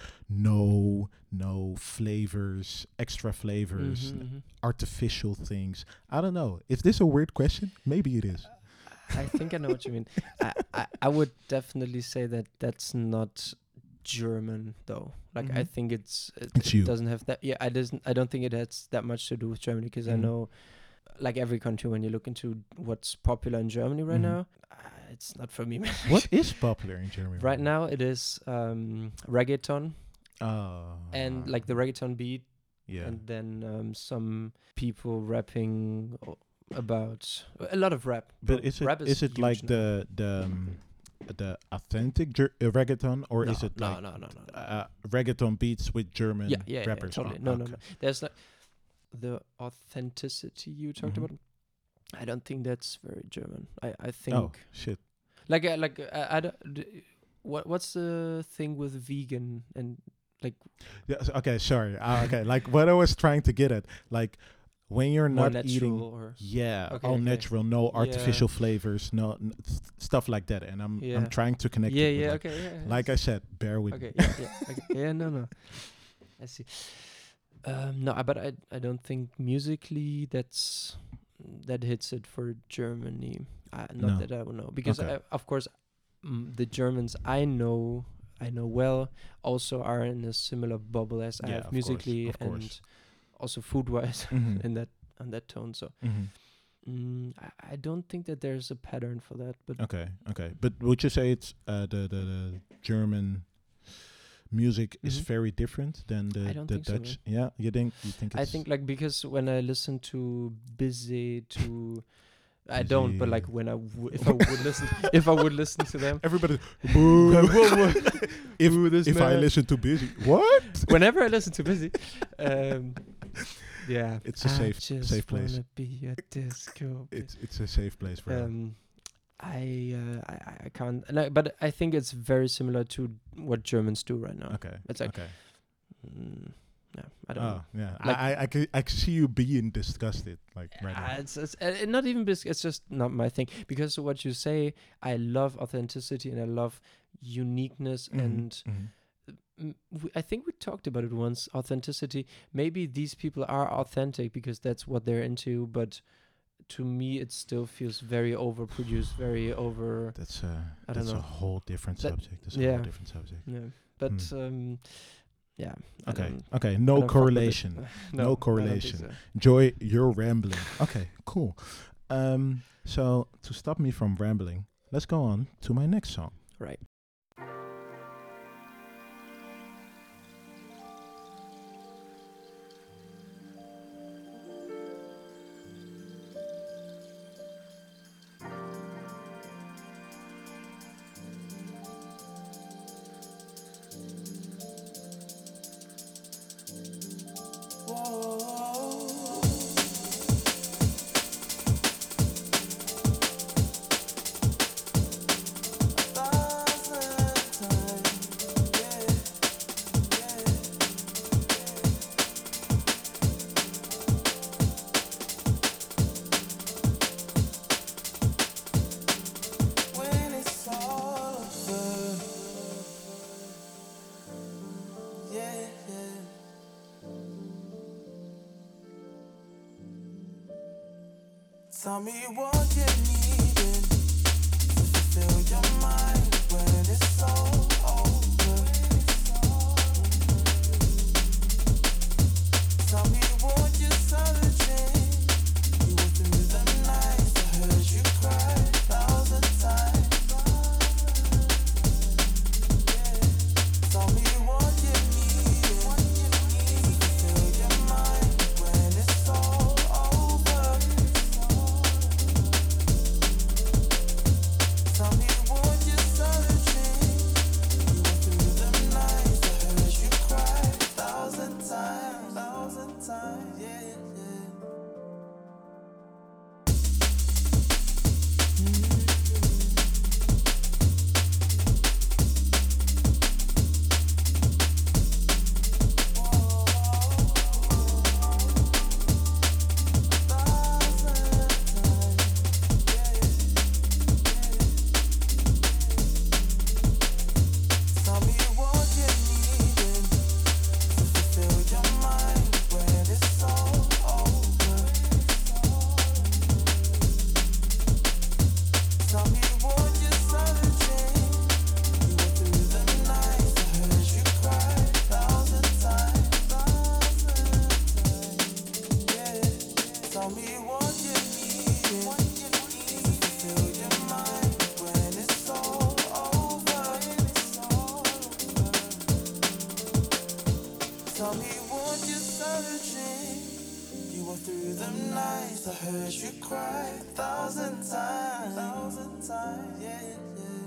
no no flavors, extra flavors, Mhm, n- mhm. artificial things? I don't know. Is this a weird question? Maybe it is. I think I know what you mean. I, I, I would definitely say that that's not German though. Like I Mhm. think it's it, It's it you. doesn't have that. Yeah, I doesn't. I don't think it has that much to do with Germany because I Mhm. know, like every country, when you look into what's popular in Germany right Mhm. now, uh, it's not for me. Man. What is popular in Germany right now? It is um, reggaeton Oh. and like the reggaeton beat, Yeah. and then um, some people rapping o- about a lot of rap. But Bro, is it rap is it huge like now. the the um, the authentic ger- uh, reggaeton, or no, is it no, like no, no, no, no. uh, reggaeton beats with German yeah, yeah, yeah, rappers? totally. Oh, no, no, okay. no. There's like the authenticity you talked Mhm. about. I don't think that's very German. I, I think Oh shit! like uh, like uh, I don't. D- what what's the thing with vegan and like Yeah, s- okay, sorry. Uh, okay, like what I was trying to get at, like when you're more not natural eating, or yeah, Okay, all okay. natural, no Yeah. artificial flavors, no n- s- stuff like that. And I'm Yeah. I'm trying to connect yeah it with yeah like, okay yeah like I said, bear with okay me. yeah yeah okay. yeah no no I see. Um, no, I- but I I don't think musically that's that hits it for Germany. Uh, not No. that I would know because Okay. I, of course mm, the Germans I know I know well also are in a similar bubble as I Yeah, have of course, musically of and course. also food wise Mhm. in that on that tone. So Mhm. mm, I, I don't think that there's a pattern for that. But Okay, okay. But would you say it's uh, the, the the German music is Mhm. very different than the I don't the think so, Dutch? Yeah, you think you think it's I think like because when I listen to Busy to I don't, but like Busy. when I w- if I would listen if I would listen to them. everybody boo. Whoa, whoa. if Boo this if I man. listen to Busy, what? Whenever I listen to Busy, um, yeah, It's a I safe- just safe place. wanna be a disco. It's it's a safe place for. um, I, uh, I I- I can't, and I, but I think it's very similar to what Germans do right now. okay. It's like, okay. mm, no, I don't Oh know. yeah. Like- I I I can I can see you being disgusted like right Uh, now. it's it's uh, not even bis- it's just not my thing because what you say, I love authenticity and I love uniqueness Mhm, and mhm. mm, we, I think we talked about it once. Authenticity. Maybe these people are authentic because that's what they're into, but to me it still feels very overproduced, very over. That's a I don't that's a know. whole different That- subject. That's a yeah. whole different subject. Yeah, but Hmm. um, yeah. I Okay. don't- Okay. I No don't fuck with it. correlation. no, No I don't think correlation. so. Joy, you're rambling. Okay. Cool. Um. So to stop me from rambling, let's go on to my next song. Right. When it's all over, yeah, yeah. Tell me what you needing to fulfill your mind when it's all over. Tell me what you're searching. You went through the nights, I heard you cry a thousand times. Tell me what you need to fulfill your mind when it's all over. Tell me what you're searching. You went through the nights, I heard you cry a thousand times, thousand times, yeah, yeah. Tell me what you needing to fulfill your mind when it's all over. Tell me what you're searching. You went through the nights, I heard you cry a thousand times, yeah. Tell me what you needing to fulfill your mind when it's all over. Tell me what you're searching. You went through the nights, I heard you cry a thousand times, thousand times, yeah, yeah.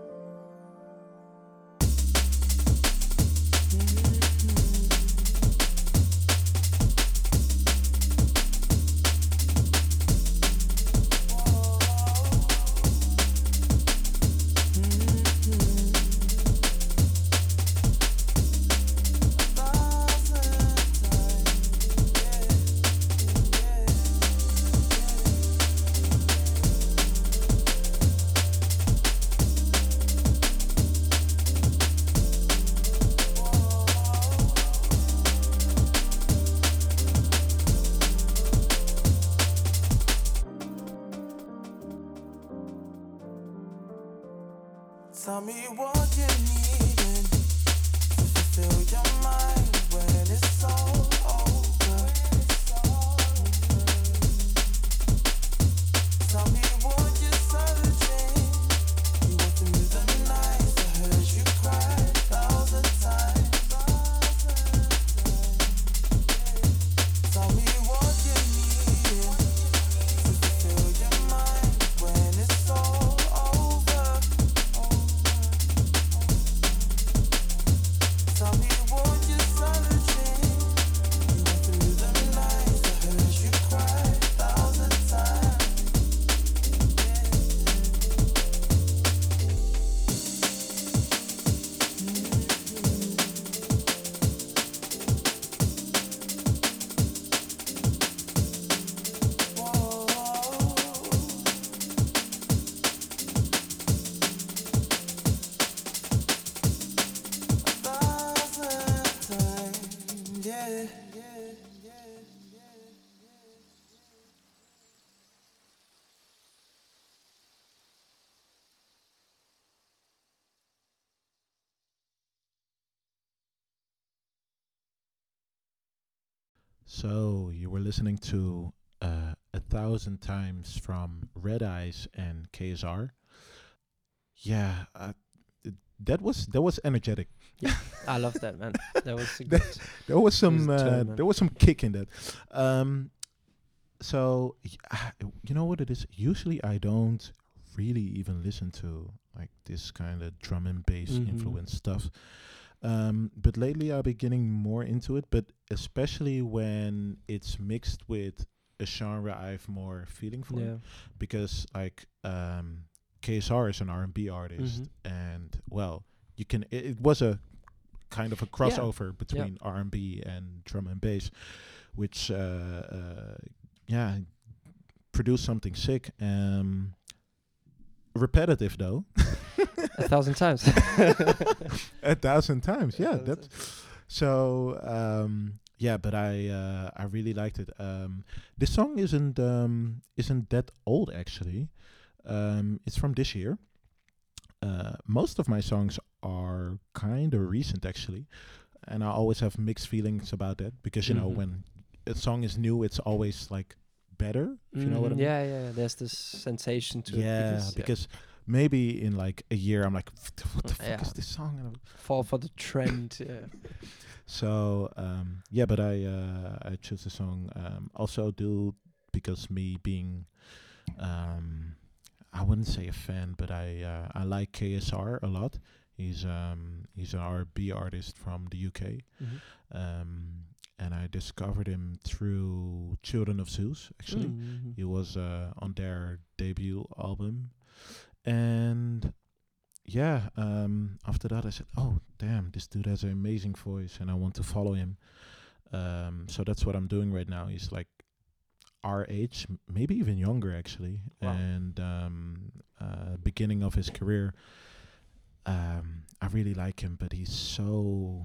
Tell me what you needing to fulfill your mind when it's all over. Tell me what you're searching. You went through the nights, I heard you cry a thousand times. Tell me what you needing to fulfill your mind when it's all over. Tell me what you're searching. So you were listening to uh, A Thousand Times from Red Eyes and K S R. Yeah, uh, th- that was that was energetic. I love that, man. That was a That- good. There was some It was a turn, uh, man. there was some kick in that. Um, so y- ah, you know what it is. Usually I don't really even listen to like this kind of drum and bass Mhm. influence stuff. Um, but lately I've been getting more into it. But especially when it's mixed with a genre I have more feeling for. Yeah. Because like um, K S R is an R and B artist, Mhm. and well, you can. It, it was a kind of a crossover between R and B and drum and bass, which uh, uh, yeah produced something sick. Um, repetitive though, A thousand times. a thousand times. A Yeah, thousand that's so. Um, yeah, but I uh, I really liked it. Um, this song isn't um, isn't that old actually. Um, it's from this year. Uh, most of my songs are kind of recent actually, and I always have mixed feelings about that because you know Mhm. when a song is new, it's always like better. If you know what I Mhm. mean? Yeah, yeah, yeah. There's this sensation to Yeah, it. Because, because maybe in like a year I'm like, what the, what the fuck Yeah. is this song? And I'm- fall for the trend. Yeah. So um, yeah, but I uh, I chose the song um, also do because me being um, I wouldn't say a fan, but I uh, I like K S R a lot. He's um he's an R and B artist from the U K, Mhm. um, and I discovered him through Children of Zeus. Actually, Mhm. he was uh, on their debut album, and yeah, um, after that I said, "Oh, damn, this dude has an amazing voice, and I want to follow him." Um, so that's what I'm doing right now. He's like our age, m- maybe even younger actually, Wow. and um, uh, beginning of his career. Um, I really like him, but he's so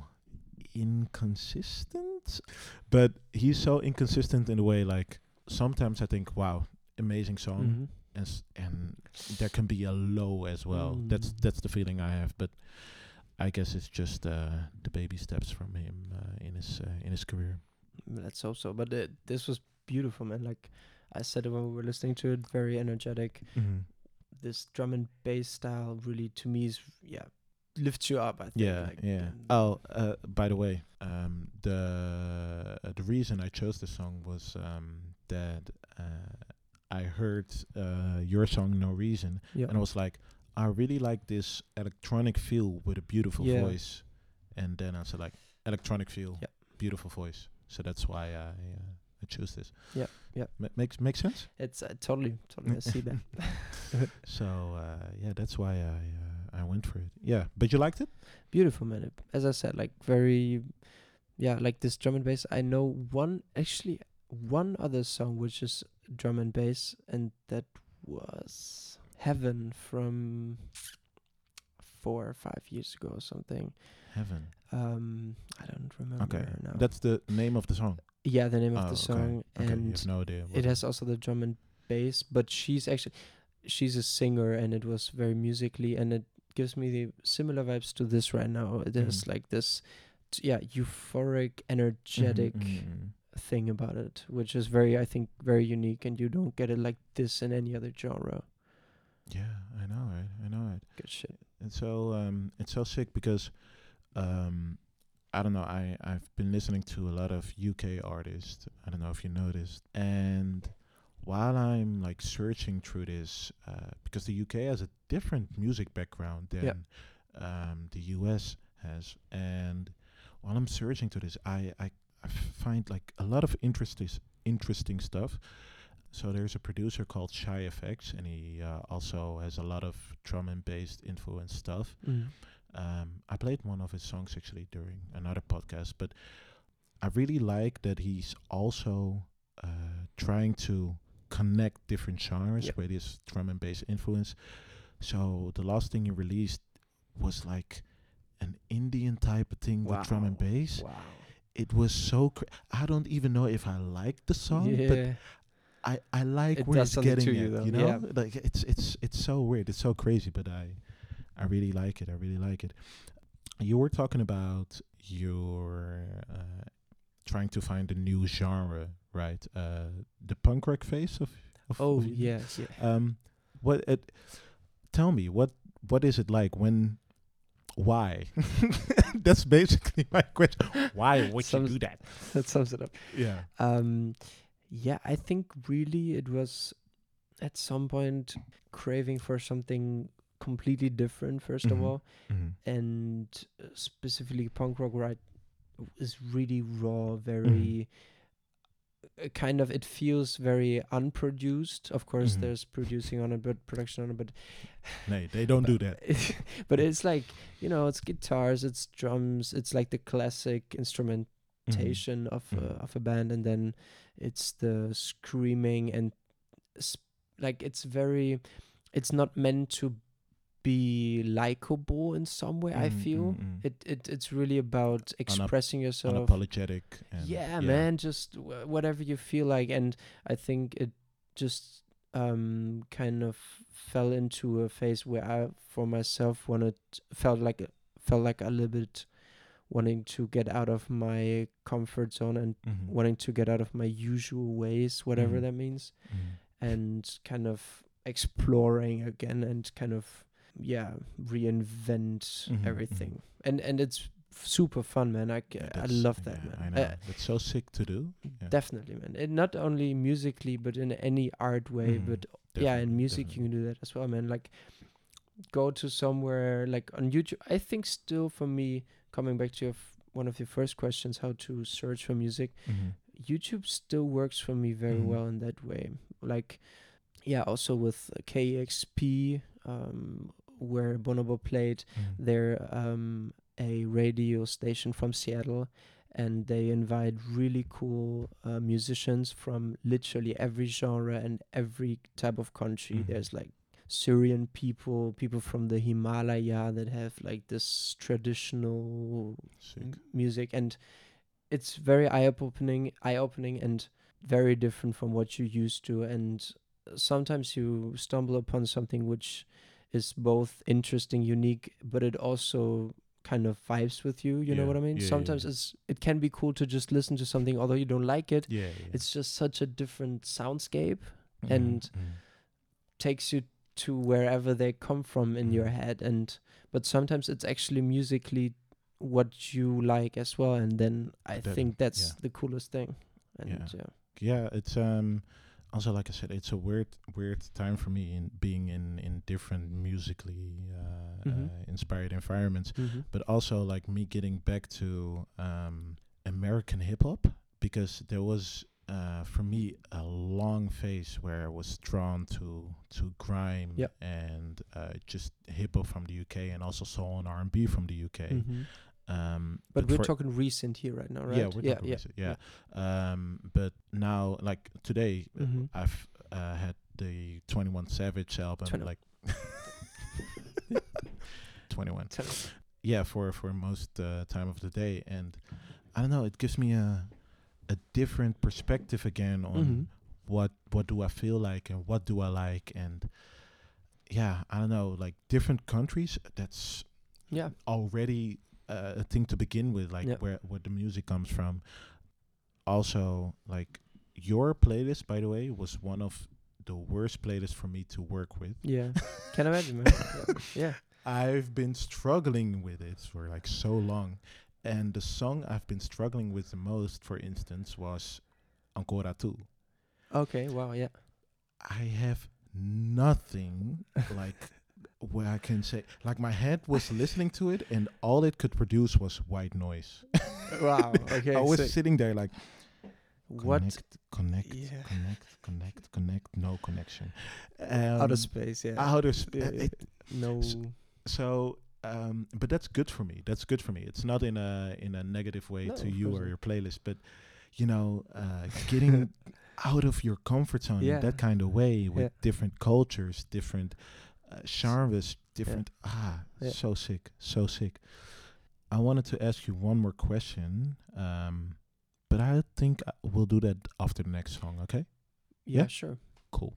inconsistent. But he's so inconsistent in a way like sometimes I think, wow, amazing song, Mhm. and s- and there can be a low as well. That's Mm. that's the feeling I have, but I guess it's just uh, the baby steps from him uh, in his uh, in his career. Let's hope so. But uh, this was beautiful, man. Like I said it when we were listening to it, very energetic. Mm-hmm. This drum and bass style really, to me, is yeah, lifts you up. I think. Yeah, like, yeah. and- Oh, uh, by the way, um, the uh, the reason I chose the song was um, that uh, I heard uh, your song "No Reason," yeah. and I was like, I really like this electronic feel with a beautiful Yeah. voice, and then I said like electronic feel, Yeah. beautiful voice. So that's why I uh, I choose this. Yeah, yeah. Ma- makes makes sense. It's uh, totally, totally. I see that. So uh, yeah, that's why I uh, I went for it. Yeah, but you liked it? Beautiful, man. It- As I said, like very, yeah, like this drum and bass. I know one, actually, one other song which is drum and bass, and that was Heaven from four or five years ago or something. Heaven. Um, I don't remember Okay, now. that's the name of the song. yeah, the name of Oh, the okay. song, Okay, you and have no idea. what it has also the drum and bass, but she's actually she's a singer, and it was very musically, and it gives me the similar vibes to this right now. There's Mhm. like this, t- yeah, euphoric, Mhm, energetic mhm, mhm. thing about it, which is very, I think, very unique, and you don't get it like this in any other genre. Yeah, I know it. I know it. Good shit. It's so um, it's so sick because um, I don't know. I I've been listening to a lot of U K artists. I don't know if you noticed. And while I'm like searching through this, uh, because the U K has a different music background than Yeah. um, the U S has, and while I'm searching to this, I I, I find like a lot of interesting interesting stuff. So there's a producer called Shy F X, and he uh, also has a lot of drum and bass influence stuff. Mm. Um, I played one of his songs actually during another podcast, but I really like that he's also uh, trying to connect different genres Yep. with his drum and bass influence. So the last thing he released was like an Indian type of thing with drum and Wow. bass. Wow. It was so cra- I don't even know if I like the song, but Yeah. I, I like It where does it's something getting to you at, though, you know? yeah. Like it's it's it's so weird. It's so crazy, but I I really like it. I really like it. You were talking about your uh, trying to find a new genre, right? Uh, the punk rock phase of. of Oh of you? yes, yeah. Um, what? It, tell me what what is it like when? Why? That's basically my question. Why would Some- you do that? That sums it up. Yeah. Um, yeah, I think really it was at some point craving for something completely different. First Mhm. of all, Mhm. and uh, specifically punk rock, right, is really raw, very uh, kind of. It feels very unproduced. Of course, Mhm. there's producing on it, but production on it, but Nee, they don't do that. but it's like, you know, it's guitars, it's drums, it's like the classic instrumentation Mhm. of Mhm. uh, of a band, and then it's the screaming and sp- like it's very, it's not meant to be likable in some way. I Mm, feel mm, mm. it, it it's really about expressing yourself. Unapologetic. And Yeah, man, just w- whatever you feel like. And I think it just um kind of fell into a phase where I for myself wanted felt like a- felt like a little bit wanting to get out of my comfort zone and Mhm. wanting to get out of my usual ways, whatever Mhm. that means, Mhm. and kind of exploring again and kind of yeah reinvent Mhm, everything. And and it's super fun, man. I, c- Yeah, I that's- love that, yeah, man. I Uh, know. That's so sick to do. Yeah. Definitely, man. And not only musically, but in any art way. Mhm. But yeah, in Definitely, music you can do that as well, man. Like go to somewhere like on YouTube. I think still for me, coming back to your f- one of your first questions, how to search for music. Mhm. YouTube still works for me very Mhm. well in that way. Like, yeah, also with uh, K X P, um, where Bonobo played, Mhm. they're um, a radio station from Seattle, and they invite really cool uh, musicians from literally every genre and every type of country. Mhm. There's like Syrian people, people from the Himalaya that have like this traditional Sick. m- music, and it's very eye-opening, eye-opening, and very different from what you're used to. And sometimes you stumble upon something which is both interesting, unique, but it also kind of vibes with you. You know Yeah, what I mean? yeah, yeah, Sometimes yeah. it's it can be cool to just listen to something, although you don't like it. Yeah, yeah. It's just such a different soundscape, Mhm, and mhm. takes you to wherever they come from in your Mhm. head. And but sometimes it's actually musically what you like as well, and then I That- think that's yeah. the coolest thing. And Yeah. yeah, Yeah, it's um also like I said, it's a weird weird time for me in being in in different musically uh, Mhm. uh, inspired environments, Mhm. but also like me getting back to um American hip hop, because there was uh for me a long phase where I was drawn to to grime Yep. and uh just hip hop from the U K, and also soul and R and B from the U K. Mhm. Um, But we're for- talking recent here right now, right? Yeah, we're yeah, talking yeah, recent, yeah. Um, but now, like today, uh, Mhm. I've uh, had the twenty-one Savage album, twenty like twenty-one. Tell us. Yeah, for for most uh, time of the day, and I don't know, it gives me a a different perspective again on Mhm. what what do I feel like and what do I like, and yeah, I don't know, like different countries. That's Yeah. already uh, a thing to begin with, like Yeah. where where the music comes from. Also, like your playlist, by the way, was one of the worst playlists for me to work with. Yeah. Can imagine, man. Yeah. yeah. I've been struggling with it for like so long, and the song I've been struggling with the most, for instance, was Ancora Tu. Okay. Wow. Yeah. I have nothing like where I can say, like my head was listening to it, and all it could produce was white noise. Wow. Okay. I was sick. sitting there like, What? connect, connect, Yeah. connect, connect, connect, no connection. Outer Um, space. Yeah. outer sp- Yeah, uh, yeah. it- no. s- so, um, but that's good for me. That's good for me. It's not in a in a negative way No, to of you course or not. your playlist, but you know, uh, getting out of your comfort zone Yeah. in that kind of way with Yeah. different cultures, different uh, genres, different ah, Yeah. so sick, so sick. I wanted to ask you one more question, um, but I think I- we'll do that after the next song. Okay, Yeah. yeah? Sure. cool.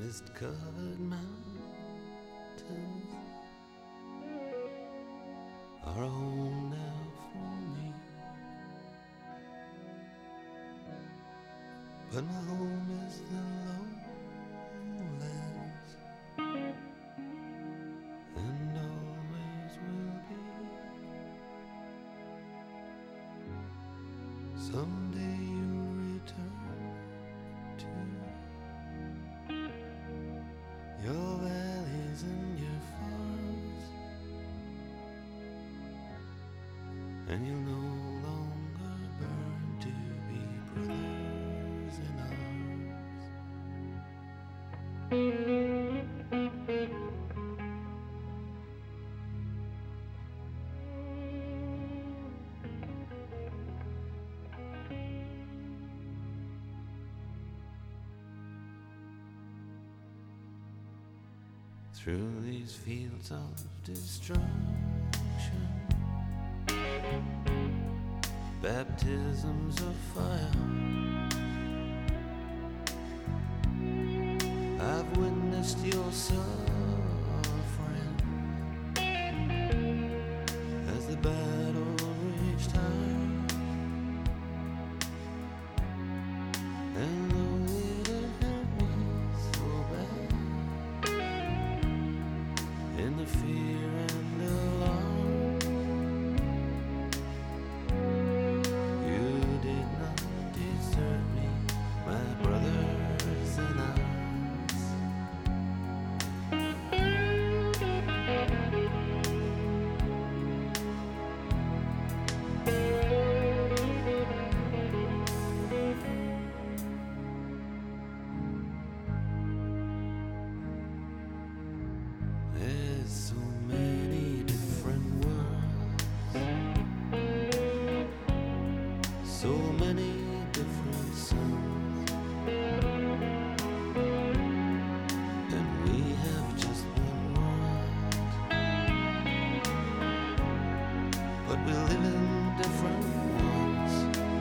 mist-covered mountains are a home now for me. But my home is the lowlands, and always will be. Someday you'll return to your valleys and your farms, and you'll no longer burn to be brothers in arms. Through these fields of destruction, baptisms of fire, I've witnessed your suffering as the battle raged high. And though it had hurt me so bad, in the fear and alarm, you did not desert me, my brothers in arms. There's so many different worlds, so many different suns, and we have just one world, but we live in different ones.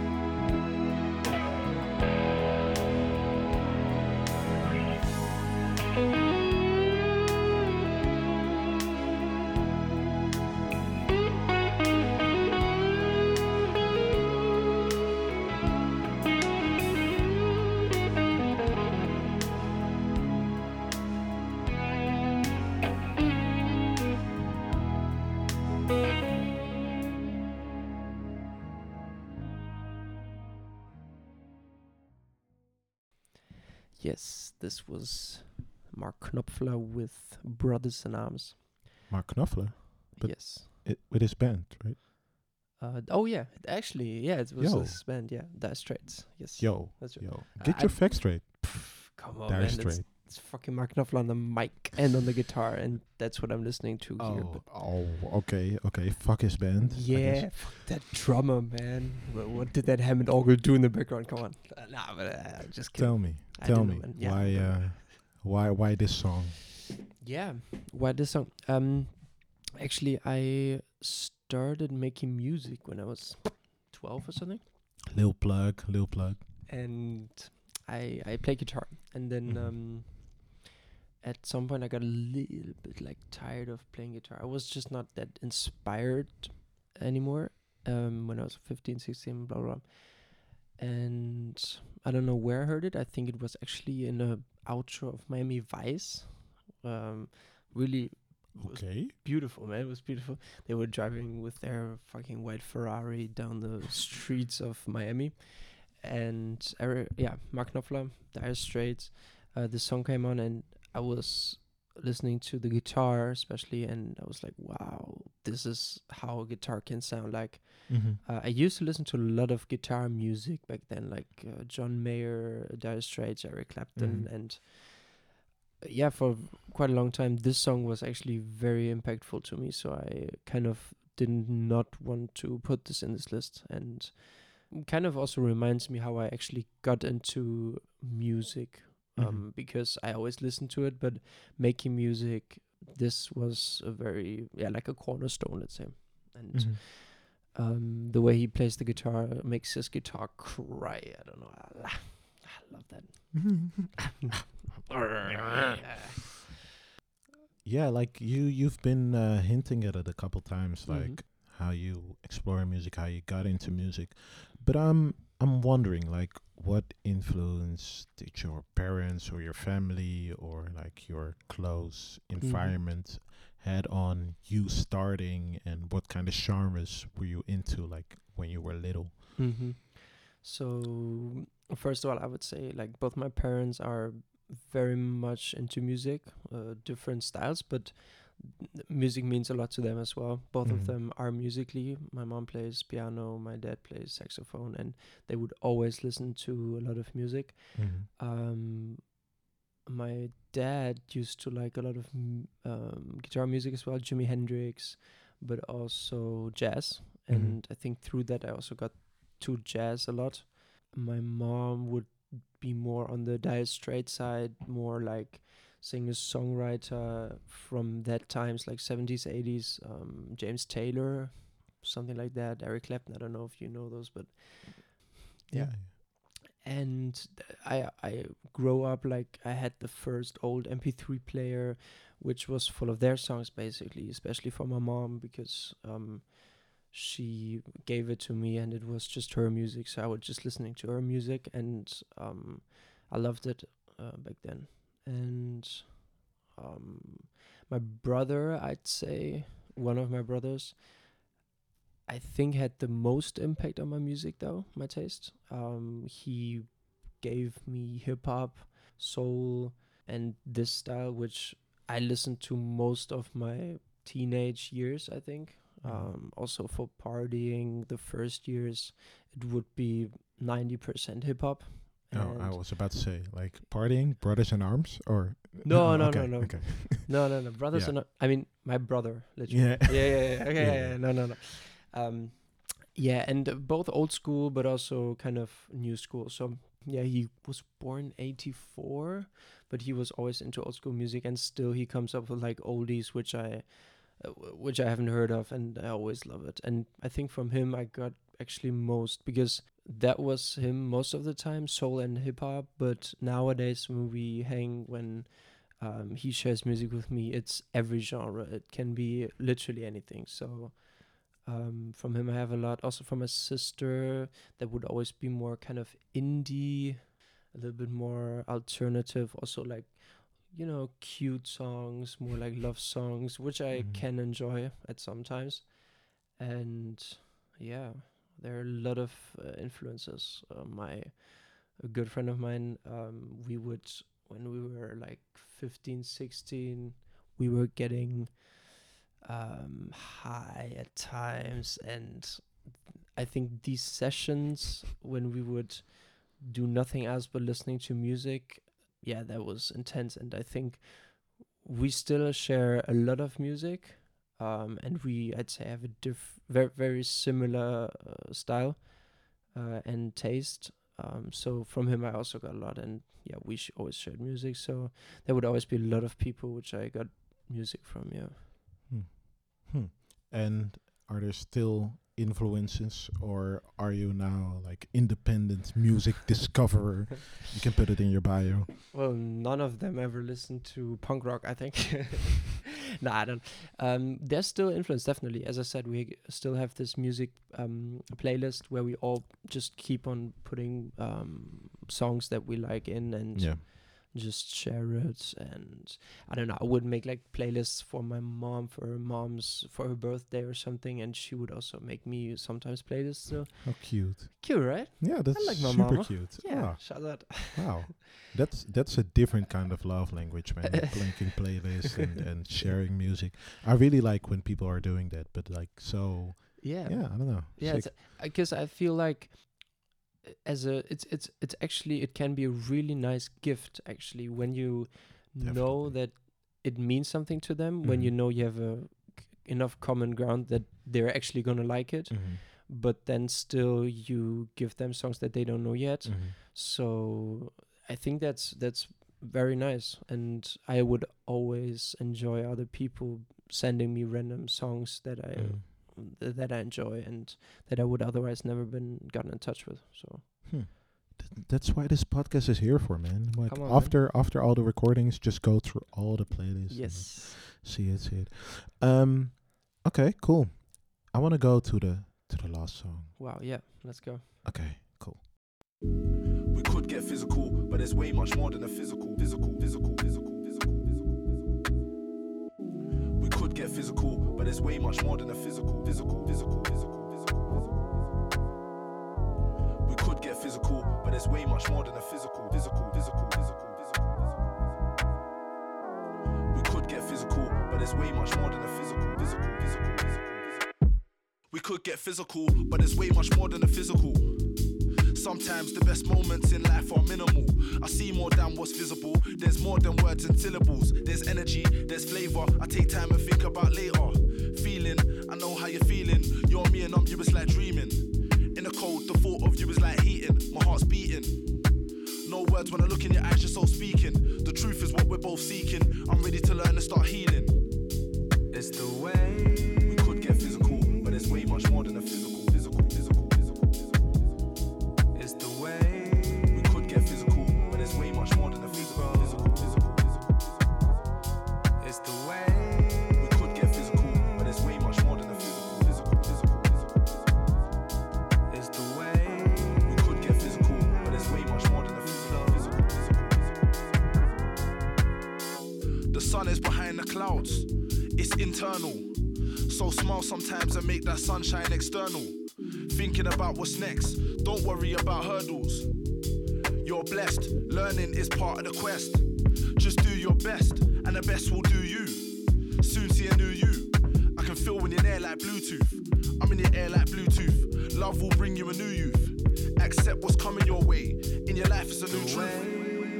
Yes, this was Mark Knopfler with Brothers in Arms. Mark Knopfler But- yes. it, with his band, right? Uh, oh yeah, actually, yeah, it was Yo. this band, yeah, Dire Straits. Yes. Yo, That's right. yo, Uh, get I- your facts straight. Pff, come on, Dire man. Straits. It's, it's fucking Mark Knopfler on the mic and on the guitar, and that's what I'm listening to here. Oh, But oh, okay, okay. Fuck his band. I yeah, guess. fuck that drummer, man. What, what did that Hammond orgel do in the background? Come on. Uh, nah, but uh, just kidding. Tell me, I tell don't me, know, man. Yeah, why, but- uh, why, why this song? Yeah, why this song? Um, actually, I started making music when I was twelve or something, Lil plug, lil plug. and I I play guitar, and then Mhm. um, at some point I got a little bit like tired of playing guitar. I was just not that inspired anymore. Um, when I was fifteen, sixteen, blah blah. blah. And I don't know where I heard it. I think it was actually in a outro of Miami Vice. Um, really was Okay. beautiful, man. It was beautiful. They were driving with their fucking white Ferrari down the streets of Miami, and I re- yeah, Mark Knopfler, Dire Straits. Uh, the song came on, and I was listening to the guitar, especially, and I was like, "Wow, this is how a guitar can sound like." Mm-hmm. Uh, I used to listen to a lot of guitar music back then, like uh, John Mayer, Dire Straits, Eric Clapton, Mhm. and uh, yeah, for quite a long time, this song was actually very impactful to me. So I kind of did not want to put this in this list, and kind of also reminds me how I actually got into music, um, Mhm. because I always listened to it, but making music, this was a very yeah like a cornerstone, let's say, and. Mhm. Um, the way he plays the guitar makes his guitar cry. I don't know. I, I love that. Yeah, like you you've been uh, hinting at it a couple times, Mhm. like how you explore music, how you got into music. But I'm I'm wondering, like, what influence did your parents or your family or like your close environment had on you starting, and what kind of genres were you into, like when you were little? Mm-hmm. So first of all, I would say like both my parents are very much into music, uh, different styles, but n- music means a lot to them as well. Both of Mhm. them are musically. My mom plays piano, my dad plays saxophone, and they would always listen to a lot of music. Mhm. Um, my dad used to like a lot of m- um, guitar music as well, Jimi Hendrix, but also jazz. Mhm. And I think through that I also got to jazz a lot. My mom would be more on the Dire Straits side, more like singer songwriter from that times, like seventies, eighties, um, James Taylor, something like that, Eric Clapton. I don't know if you know those, but Yeah. and th- I I grow up like I had the first old M P three player, which was full of their songs basically, especially for my mom because um she gave it to me and it was just her music, so I was just listening to her music and um I loved it uh, back then. And um my brother, I'd say one of my brothers, I think had the most impact on my music though, my taste. Um he gave me hip hop, soul, and this style, which I listened to most of my teenage years, I think. Mhm. Um, also for partying, the first years, it would be ninety percent hip hop. Oh, I And was about to say, like, partying, brothers in arms, or no, Oh, no, okay, no, no, okay, no, no, no. Brothers Yeah. are not. I mean, my brother, literally. yeah, Yeah, yeah, yeah. Okay, Yeah, yeah, yeah. yeah. No, no, no. Um, yeah, and uh, both old school, but also kind of new school. So yeah, he was born eighty-four, but he was always into old school music, and still he comes up with like oldies, which I, uh, w- which I haven't heard of, and I always love it. And I think from him I got actually most because that was him most of the time, soul and hip hop. But nowadays when we hang, when um, he shares music with me, it's every genre. It can be literally anything. So um, from him, I have a lot. Also from my sister, that would always be more kind of indie, a little bit more alternative. Also like you know cute songs, more like love songs, which I Mhm. can enjoy at sometimes. And yeah, there are a lot of uh, influences. Uh, my a good friend of mine, um, we would when we were like fifteen, sixteen, we were getting um, high at times, and I think these sessions when we would do nothing else but listening to music, yeah, that was intense. And I think we still share a lot of music, um, and we I'd say have a diff very very similar uh, style uh, and taste. Um, so from him I also got a lot, and yeah, we sh- always shared music. So there would always be a lot of people which I got music from. Yeah. Hmm. Hmm. And are there still influences, or are you now like independent music discoverer? You can put it in your bio. Well, none of them ever listened to punk rock, I think. No, I don't. Um, there's still influence, definitely. As I said, we g- still have this music um, playlist where we all just keep on putting um, songs that we like in and Yeah. just share it. And I don't know, I would make like playlists for my mom, for her mom's, for her birthday or something, and she would also make me sometimes playlists. So How cute. cute, right? Yeah, that's like my super mama. cute. Yeah, Ah, shout out. wow. That's that's a different kind of love language, man. Like linking playlists and, and sharing music. I really like when people are doing that, but like so Yeah. yeah, I don't know. Yeah, Sick. it's because I feel like uh, as a it's it's it's actually it can be a really nice gift actually when you know Definitely. that it means something to them, when you Mhm. know you have a c- enough common ground that they're actually gonna like it, Mhm. but then still you give them songs that they don't know yet. Mhm. So I think that's that's very nice, and I would always enjoy other people sending me random songs that I Mhm. th- that I enjoy and that I would otherwise never been gotten in touch with. So Hmm. that's why this podcast is here for, man. Like Come on, man. after after all the recordings, just go through all the playlists. and Yes. See it, see it. Um, okay, cool. I want to go to the to the last song. Wow. Yeah. Let's go. Okay, cool. We could get physical, but there's way much more than a physical, physical, physical, physical, physical, physical. We could get physical, but there's way much more than a physical, physical, physical, physical, physical, physical. We could get physical, but there's way much more than a physical, physical, physical, physical, physical, physical. We could get physical, but there's way much more than a physical, physical, physical, physical, physical. We could get physical, but there's way much more than a physical. Sometimes the best moments in life are minimal. I see more than what's visible. There's more than words and syllables. There's energy, there's flavor. I take time and think about later. Feeling, I know how you're feeling. You're me and I'm you, it's like dreaming. In the cold, the thought of you is like heating. My heart's beating. No words when I look in your eyes, you're so speaking. The truth is what we're both seeking. I'm ready to learn and start healing. It's the way. We could get physical, but there's way much more than a physical, physical, physical, physical, physical. It's the way. We could get physical, but there's way much more than a physical, physical, physical, physical, physical. It's the way. We could get physical, but there's way much more than a physical, physical, physical, physical, physical. It's the way. We could get physical, but there's way much more than a physical, physical, physical, physical. The sun is behind the clouds. It's internal. So smile sometimes and make that sunshine external. Thinking about what's next. Don't worry about hurdles. You're blessed. Learning is part of the quest. Just do your best, and the best will do you. Soon see a new you. I can feel when you're there like Bluetooth. I'm in the air like Bluetooth. Love will bring you a new youth. Accept what's coming your way. In your life, it's a new truth.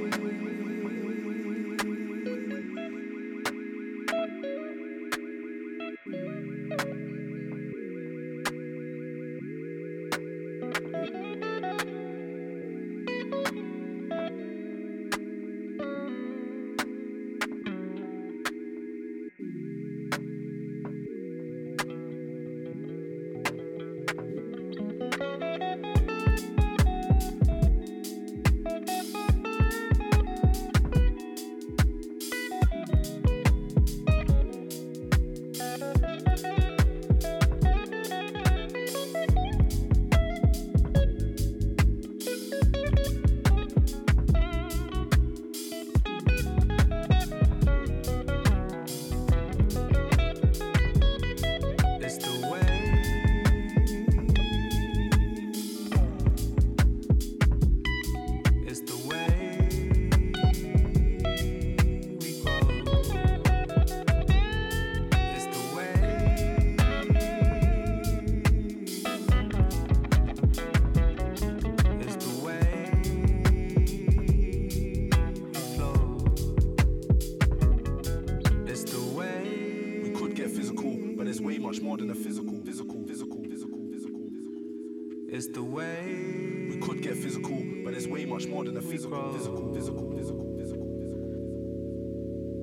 It's the way. We could get physical, but there's way much more than a physical, physical, physical, physical, physical, physical.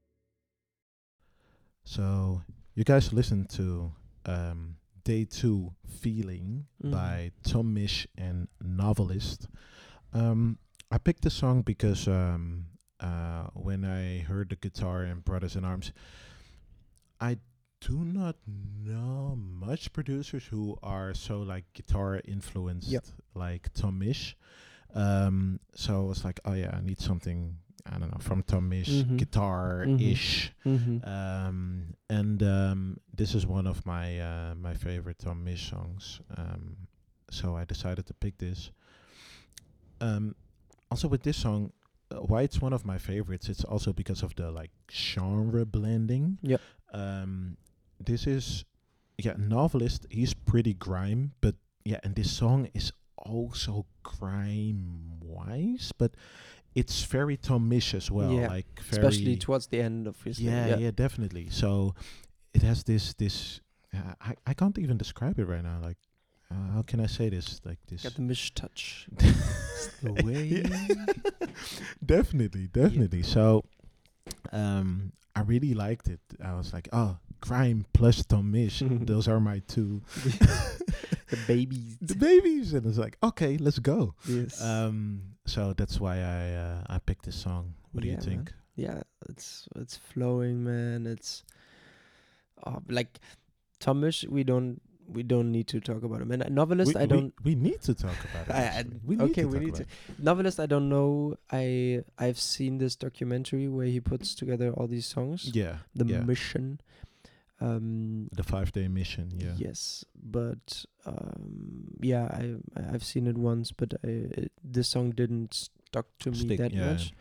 So you guys listened to um, Day Two Feeling Mhm. by Tom Misch and Novelist. Um, I picked the song because um, uh, when I heard the guitar in Brothers in Arms, I do not know much producers who are so like guitar influenced Yep. like Tom Misch. Um, so I was like, oh yeah, I need something, I don't know, from Tom Misch, Mhm. guitar-ish. Mm-hmm. Um, and um, this is one of my uh, my favorite Tom Misch songs. Um, so I decided to pick this. Um, also with this song, uh, why it's one of my favorites, it's also because of the like genre blending. Yep. Um, this is, yeah, Novelist, he's pretty grime, but yeah, and this song is also grime-wise, but it's very Tom Misch as well. Yeah, like very Especially towards the end of his yeah, yeah, definitely. So it has this this uh, I I can't even describe it right now. Like uh, how can I say this? Like this. Got the Misch touch. the way. definitely, definitely. So um, I really liked it. I was like, oh, grime plus Tom Misch. Those are my two the babies. the babies, and it's like, okay, let's go. Yes. Um, so that's why I uh, I picked this song. What Yeah, do you think? man. Yeah, it's it's flowing, man. It's oh, like Tomish. We don't we don't need to talk about him. And a novelist, we, I we- don't. We, need to talk about it. I- I- actually. we need okay, to we talk need about to. Novelist, I don't know. I I've seen this documentary where he puts together all these songs. it. Yeah, The yeah. Mission. Um, the five day mission. Yeah. Yes, but um, yeah, I I- I've seen it once, but I, it, this song didn't stuck to me Stick, that yeah. much.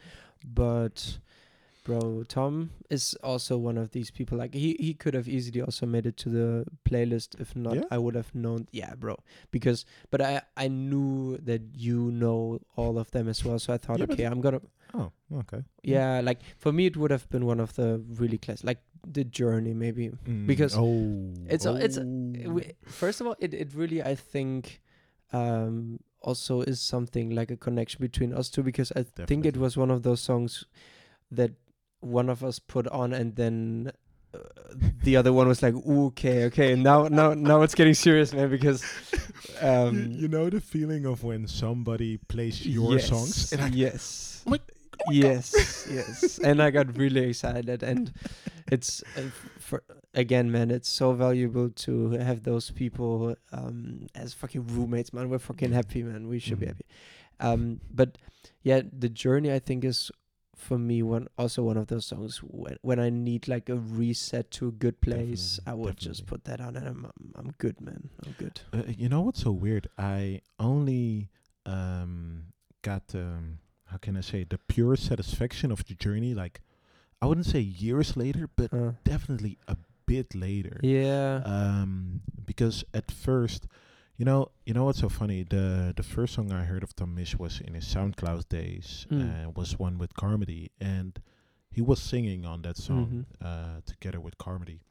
But bro, Tom is also one of these people. Like he he could have easily also made it to the playlist. If not, Yeah? I would have known. Yeah, bro. Because but I I knew that you know all of them as well. So I thought, Yeah, but- okay, I'm gonna. Oh, okay. Yeah, like for me, it would have been one of the really class, like the Journey maybe. Mm, Because oh, it's a- it's a- oh. we- First of all, it, it really, I think, um, also is something like a connection between us two, because I think it Definitely. was one of those songs that one of us put on, and then uh, the other one was like, "Ooh, okay, okay, now, now, now it's getting serious, man," because um, you, you know the feeling of when somebody plays your yes, songs. And I, yes, Oh my- yes, yes, and I got really excited, and it's uh, f- for again, man, it's so valuable to have those people um, as fucking roommates, man. We're fucking happy, man. We should be Mhm. happy. Um, but yeah, the Journey, I think, is for me one also one of those songs when when I need like a reset to a good place. Definitely, I would just definitely. put that on, and I'm I'm, I'm good, man. I'm good. Uh, you know what's so weird? I only um, got um, how can I say, the pure satisfaction of the Journey. Like, I wouldn't say years later, but Uh, definitely a bit later. yeah. Um, because at first, you know, you know what's so funny? The the first song I heard of Tom Misch was in his SoundCloud days. Mm. Uh, was one with Carmody, and he was singing on that song Mhm. uh, together with Carmody.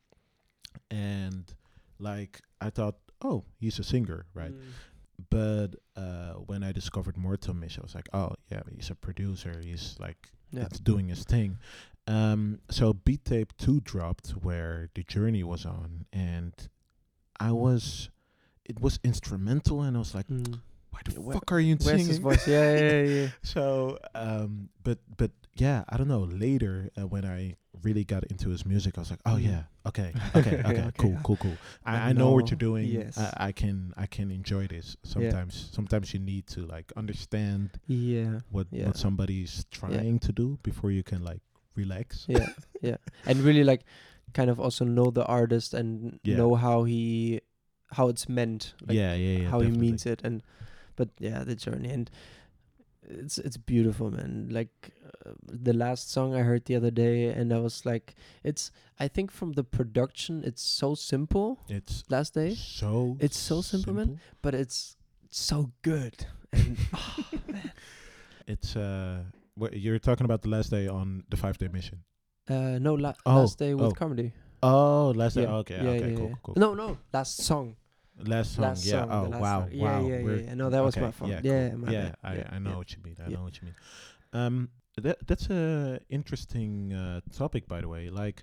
And like I thought, oh, he's a singer, right? Mm. But uh, when I discovered more Tom Misch, I was like, oh yeah, he's a producer. He's like Yeah. it's doing his thing. Um, so Beat Tape two dropped where The Journey was on, and I was, it was instrumental, and I was like, Mm. why the Where- fuck are you Where's singing? his voice? Yeah, yeah, yeah. So, um, but but yeah, I don't know. Later, uh, when I really got into his music, I was like, oh Mm. yeah, okay, okay, okay, Okay. cool, cool, cool. I, I I know what know. you're doing. Yes. I, I can I can enjoy this. Sometimes sometimes you need to like understand Yeah. what Yeah. what somebody's trying to do before you can like relax. Yeah, yeah, and really like kind of also know the artist and Yeah. know how he how it's meant, like yeah, yeah, yeah. how definitely. he means it, and but yeah, the Journey, and it's it's beautiful, man. Like uh, the last song I heard the other day, and I was like, it's I think from the production, it's so simple. It's Last day, so It's so simple, man. but it's so good. And oh, man. It's uh, what you're talking about the last day on the five day mission. Uh, no, la- Oh, last day with oh. Comedy. Oh, last day. Yeah, Okay, yeah, okay, yeah, cool, yeah. cool, cool. No, no, last song. Last song, Last yeah. song, the Oh, last wow, song. Yeah, wow. yeah, we're- yeah. No, that was okay, my fault. Yeah, Yeah, cool. my yeah. bad. I, Yeah, I know yeah. what you mean. I Yeah. know what you mean. Um, that that's a interesting uh, topic, by the way. Like,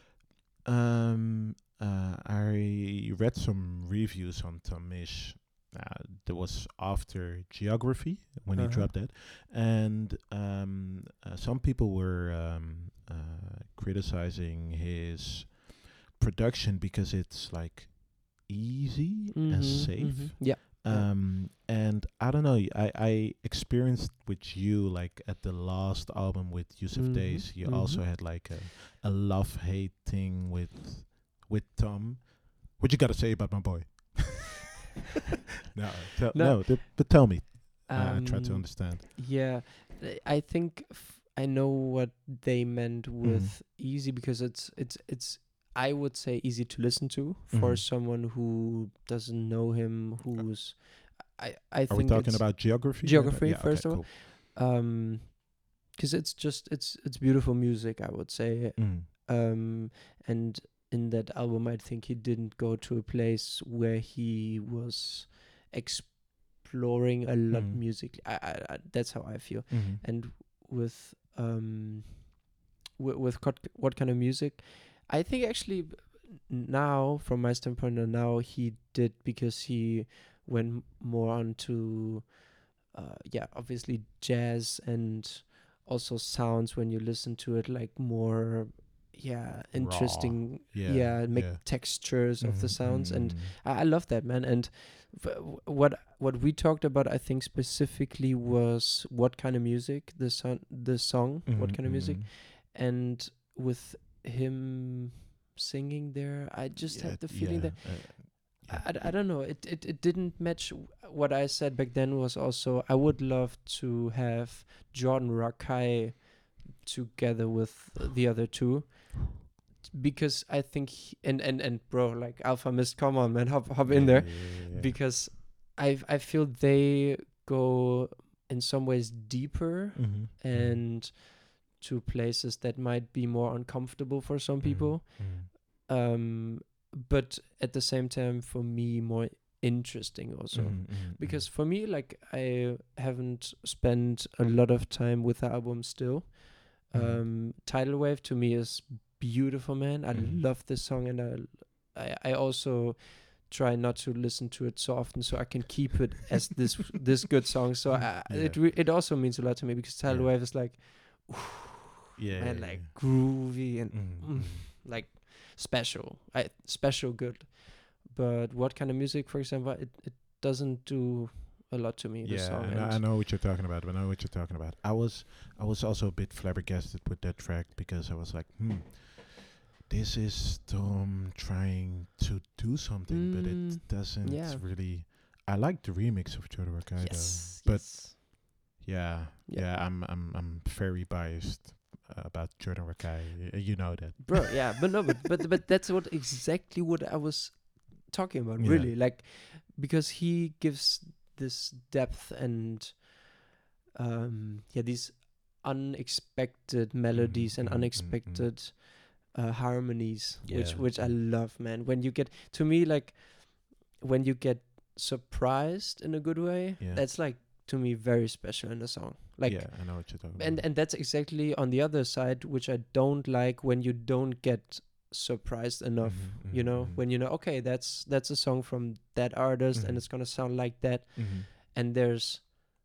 um, uh, I read some reviews on Tom Misch. Uh, that was after Geography when he Uh-huh. dropped that, and um, uh, some people were um, uh, criticizing his production because it's like easy and Mhm, safe. mhm. Yeah. Um, and I don't know. I, I experienced with you like at the last album with Yusuf Mhm, Days. You also mhm. had like a, a love hate thing with with Tom. What you gotta say about my boy? no, tell, No. no. th- but tell me. I try to Um, understand. Yeah, th- I think f- I know what they meant Mm-hmm. with easy, because it's it's it's I would say easy to listen to for Mhm. someone who doesn't know him, who's I I Are we think talking it's, about geography? Geography, Yeah, okay, first of all. cool. um because it's just it's it's beautiful music, I would say. Mm. Um and in that album, I think he didn't go to a place where he was exploring a lot Mhm. musically. I, I, I that's how I feel. Mhm. And with um wi- with what what kind of music, I think actually b- now, from my standpoint, uh, now he did because he went m- more on to, uh, yeah, obviously jazz and also sounds when you listen to it, like more, yeah, interesting, Yeah, yeah, make yeah. textures of the Mhm, sounds, and mhm. I, I love that, man. And f- w- what what we talked about, I think specifically was what kind of music the son the song, what Mhm, kind of music, mhm. and with him singing there, I just Yeah, had the feeling yeah, that uh, I, yeah. I, I don't know, it, it it didn't match w- what I said back then. Was also I would love to have Jordan Rakai together with the other two, because I think he, and and and bro, like Alpha Mist, come on, man, hop hop in Yeah, there, yeah, yeah, yeah. because I I feel they go in some ways deeper Mhm, mhm. and to places that might be more uncomfortable for some Mhm, people, mhm. um but at the same time for me more interesting also, Mhm, mhm, because mhm. for me, like, I haven't spent a lot of time with the album still. Mhm. um Tidal Wave to me is beautiful, man. I Mhm. love this song, and I, I I also try not to listen to it so often so I can keep it as this this good song. So I, it Yeah. re- it also means a lot to me, because Tidal Yeah. Wave is like, Yeah, man, yeah, like yeah. groovy and Mhm, mm, mhm. like special, I special good. But what kind of music, for example, it it doesn't do a lot to me. The Yeah, song, I know, and I know what you're talking about. I know what you're talking about. I was, I was also a bit flabbergasted with that track because I was like, hmm, this is Tom trying to do something, but Mm, it doesn't yeah. really. I like the remix of Jordan Rakai, yes, but yes. yeah, Yeah. yeah, I'm, I'm, I'm very biased uh, about Jordan Rakai. Y- You know that, Bro, yeah, but no, but but but that's what exactly what I was talking about, Yeah. really, like, because he gives this depth and um yeah, these unexpected melodies and mhm, mhm, mhm. unexpected uh, harmonies, which Yeah, which I yeah. love, man. When you get, to me, like, when you get surprised in a good way, Yeah. that's like, to me, very special in a song. Like, yeah, I know what you're talking and about. and that's exactly on the other side, which I don't like, when you don't get surprised enough. Mhm, You mhm, know, mhm. when you know, okay, that's that's a song from that artist, Mhm. and it's gonna sound like that, Mhm. and there's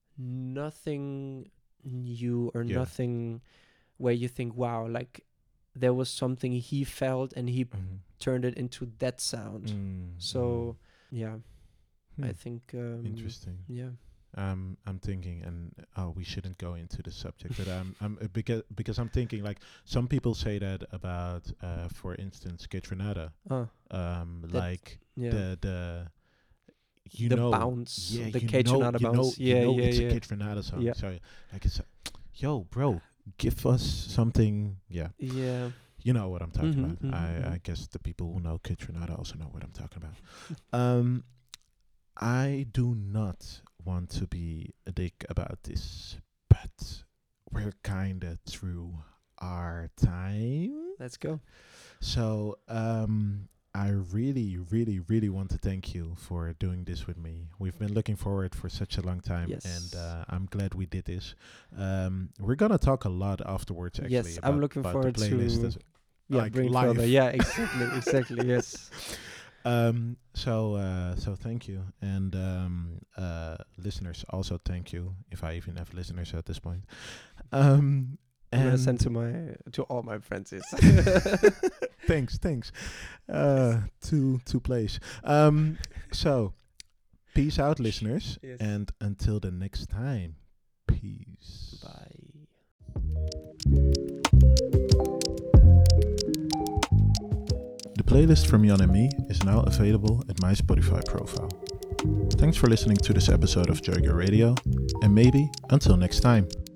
nothing new or Yeah. nothing where you think, wow, like there was something he felt and he Mhm. turned it into that sound. Mm, So yeah, mm. I Hmm. think um, Interesting. Yeah. Um, I'm thinking, and oh, we shouldn't go into the subject, but I'm, I'm uh, because because I'm thinking, like, some people say that about, uh, for instance, Kid Renata, Oh, um, That- like yeah. the the you The know, bounce, yeah, the you Kate know, Renata you know, bounce. you Yeah, know, yeah, it's yeah. a Kid Renata song. Yeah. So like, it's, yo, bro, give us something. Yeah, Yeah. you know what I'm talking Mhm, about. mhm, I, I mhm. guess the people who know Kid Renata also know what I'm talking about. um, I do not want to be a dick about this, but we're kinda through our time. Let's go. So um, I really, really, really want to thank you for doing this with me. We've been looking forward for such a long time, Yes. and uh, I'm glad we did this. Um, we're gonna talk a lot afterwards. Actually, Yes, I'm about- looking about forward the playlist to as- yeah, like bring live. further. Yeah, exactly, exactly. Yes. Um, so uh, so thank you, and um, uh, listeners also thank you. If I even have listeners at this point, um, I'm gonna and send to my to all my friends. Yes. thanks, thanks. Uh, two two plays. Um, so peace out, listeners, Yes. and until the next time, peace. Bye. The playlist from Jan and me is now available at my Spotify profile. Thanks for listening to this episode of Joygo Radio, and maybe until next time.